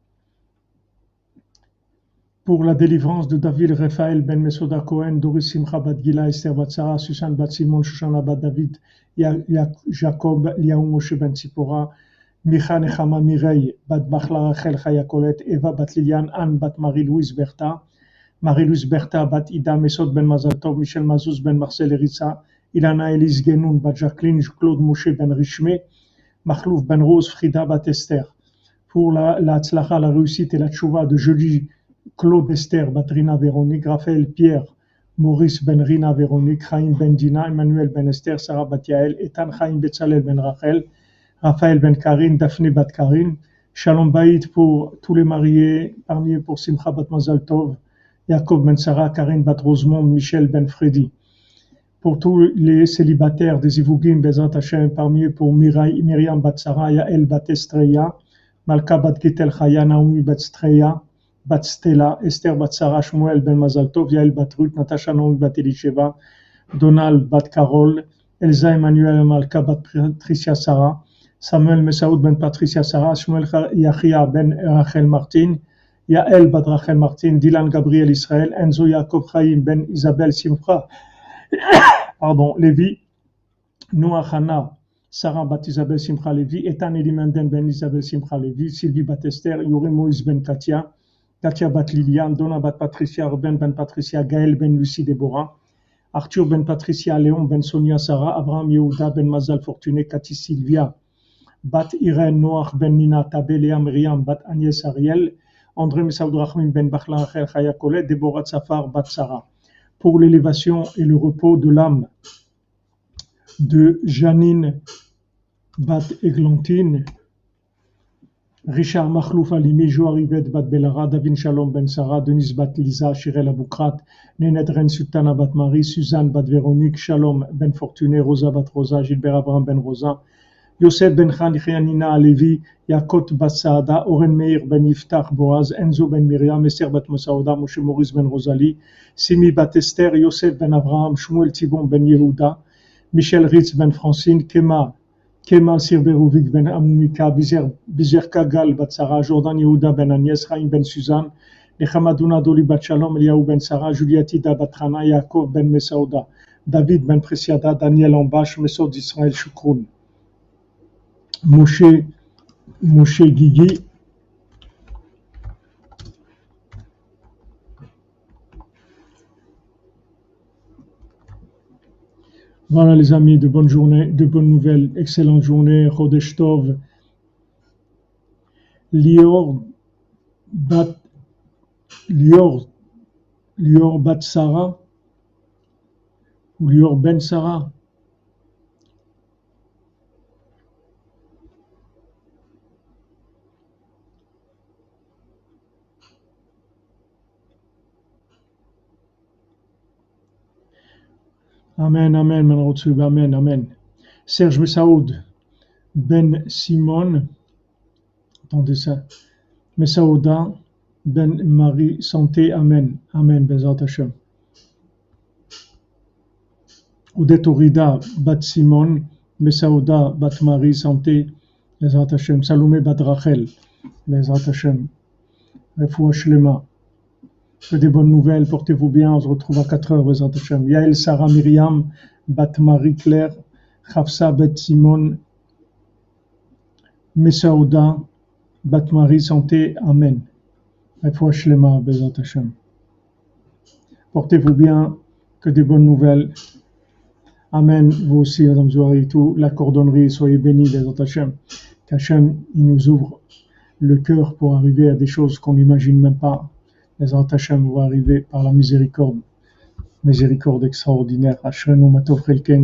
Pour la délivrance de David Raphaël Ben Mesoda Cohen, Doris Simcha Bat Gila, Esther Bat Sarah, Susan Bat Simon, Shoshana Bat David, Jacob, Liaou Moshe Ben Tzipora, Micha Nechama Mireille, Bat Bachla Rachel Chaya Colette, Eva Bat Liliane, Anne Bat Marie-Louise Bertha, Marie-Louise Bertha Bat Ida Mesod Ben Mazal Tov, Michel Mazouz Ben Marcel Eritza, Ilana Elise Genoun, Bat Jacqueline, Claude Moshe Ben Richmé, Mahlouf Ben Rose, Frida Bat Esther. Pour la, la tzlacha, la réussite et la tchouva de Jolie Claude Esther, Batrina Véronique, Raphaël Pierre, Maurice Ben Rina Véronique, Chaim Ben Dina, Emmanuel Ben Esther, Sarah Bat Yael, Etan Chaim Betzalel Ben Rachel, Raphaël Ben Karine, Daphné Bat Karine, Shalom Baït pour tous les mariés, parmi eux pour Simcha Bat Mazal Tov, Yaakov Ben Sarah, Karine Bat Rosemont, Michel Ben Freddy. Pour tous les célibataires des Ivougim, Bezat Hashem, parmi eux pour Mirai, Myriam Bat Sarah, Yael Bat Estreya, Malka Bat Gitel Chaya, Naomi Bat Streya, Bat Stella, Esther Bat Sarah, Shmuel Ben Mazal Tov, Yael Bat Ruth, Natasha Naomi Bat Elisheva, Donald Bat Carol, Elsa Emmanuel Malka Bat Patricia Sarah, Samuel Mesaoud Ben Patricia Sarah, Shmuel Yachia Ben Rachel Martin, Yael Bat Rachel Martin, Dylan Gabriel Israël, Enzo Yaakov Chaim Ben Isabelle Simcha, pardon, Lévi, Noah Hana, Sarah Bat Isabelle Simcha Lévi, Etan Elimenden Ben Isabelle Simcha Lévi, Sylvie Bat Esther, Yuri Moïse Ben Katia, Katia Bat Liliane, Donna Bat Patricia, Ruben Ben Patricia, Gaël Ben Lucie Déborah, Arthur Ben Patricia, Léon Ben Sonia Sarah, Abraham Yehuda Ben Mazal Fortuné, Cathy Sylvia, Bat Irène Noach Ben Nina Tabé, Léa Myriam Bat Agnès Ariel, André Mesaoud Rahmim Ben Bachla Rachel Chaya Kolet, Déborah Tsafar Bat Sarah. Pour l'élévation et le repos de l'âme de Janine Bat Eglantine, Richard Makhlouf Alimi, Joarivet Bat Belara, Davin Shalom Ben Sarah, Denise Bat Lisa, Shirel Aboukrat, Nénet Ren Sultana Bat Marie, Suzanne Bat Véronique, Shalom Ben Fortuné, Rosa Bat Rosa, Gilbert Abraham Ben Rosa, Yosef Ben Khan, Nina Alevi, Yakot Bat Saada, Oren Meir Ben Yiftach Boaz, Enzo Ben Miriam, Esther Bat Mosaouda, Moshe Maurice Ben Rosalie, Simi Bat Esther, Yosef Ben Abraham, Shmuel Tibon Ben Yehuda, Michel Ritz Ben Francine, Kema, Kemal Sirberovic Ben Amounika, Bizer Kagal Bat Sarah, Jordan Yehuda Ben Agnès, Chaim Ben Suzanne, Nechamadouna Doli Bat Shalom, Eliaou Ben Sarah, Juliatida Bat Hana, Yaakov Ben Mesaouda, David Ben Presiada, Daniel Ambash, Mesod Israël Shukroun. Moshe, Moshe Guigui, voilà les amis, de bonnes journées, de bonnes nouvelles, excellente journée, Chodesh Tov, Lior Bat, Lior, Lior Bat Sarah, ou Lior Ben Sarah. Amen, amen, Manrotsub, amen, amen. Serge Messaoud, Ben Simon, attendez ça, Messaouda, Ben Marie, santé, amen, amen, Bezat Hashem. Oudet Orida, Bat Simon, Messaouda, Bat Marie, santé, Bezat Hashem. Salomé Bat Rachel, Bezat Hashem. Refoua Shlema. Que des bonnes nouvelles, portez-vous bien, on se retrouve à quatre heures, Bezat Hashem. Yael, Sarah, Myriam, Bat Marie, Claire, Hafsa, Bet Simon, Messaouda, Bat Marie, santé, amen. Refoua Shlema, Bezat Hashem. Portez-vous bien, que des bonnes nouvelles. Amen, vous aussi, Madame Zouari, tout, la cordonnerie, soyez bénis, Bezat Hashem. Qu'Hachem, il nous ouvre le cœur pour arriver à des choses qu'on n'imagine même pas. Bezat Hashem va arriver par la miséricorde, miséricorde extraordinaire. Ashrenu matov chelkenu.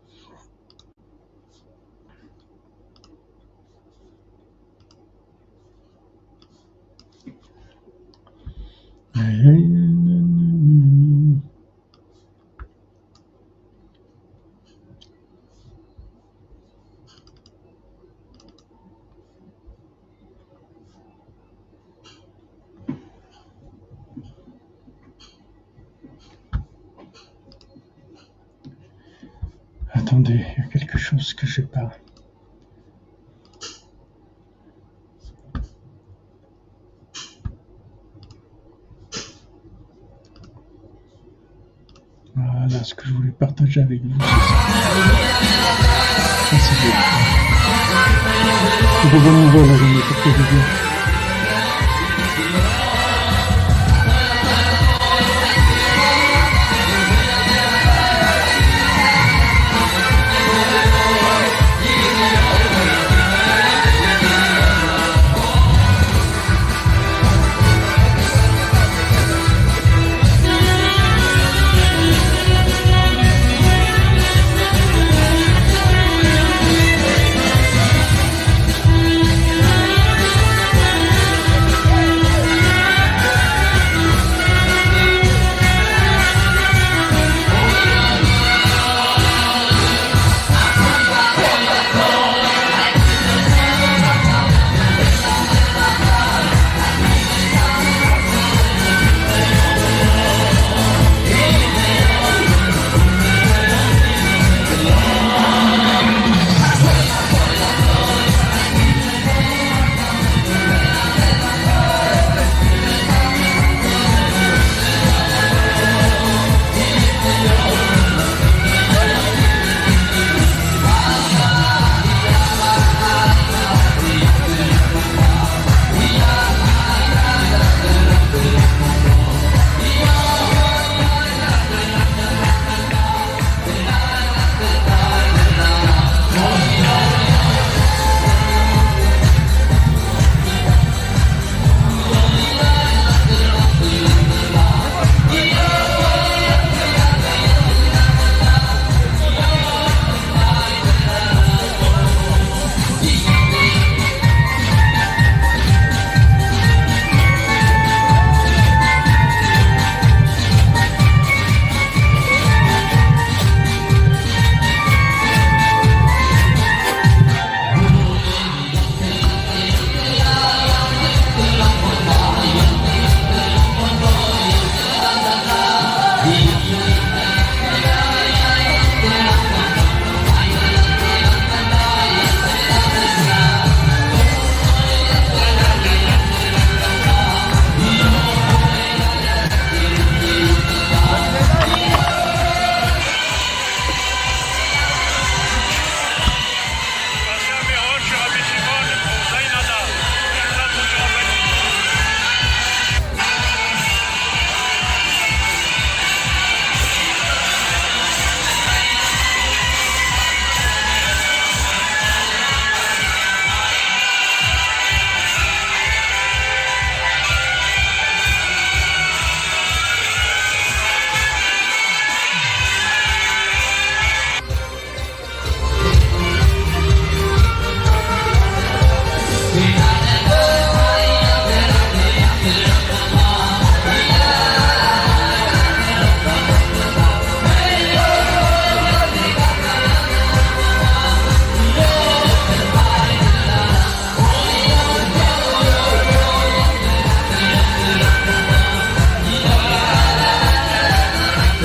Attendez, il y a quelque chose que je n'ai pas. Voilà ce que je voulais partager avec vous. Ça, c'est bien. C'est de bonnes nouvelles, la journée, portez-vous bien.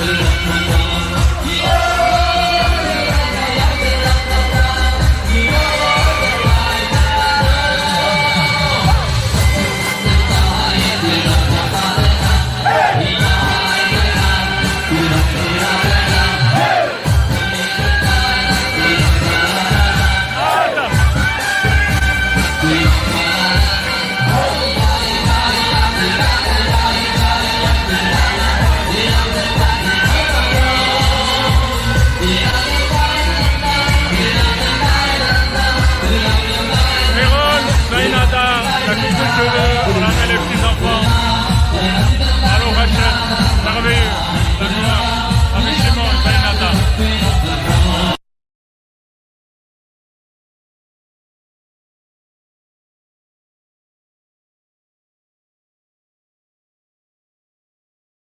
Thank you.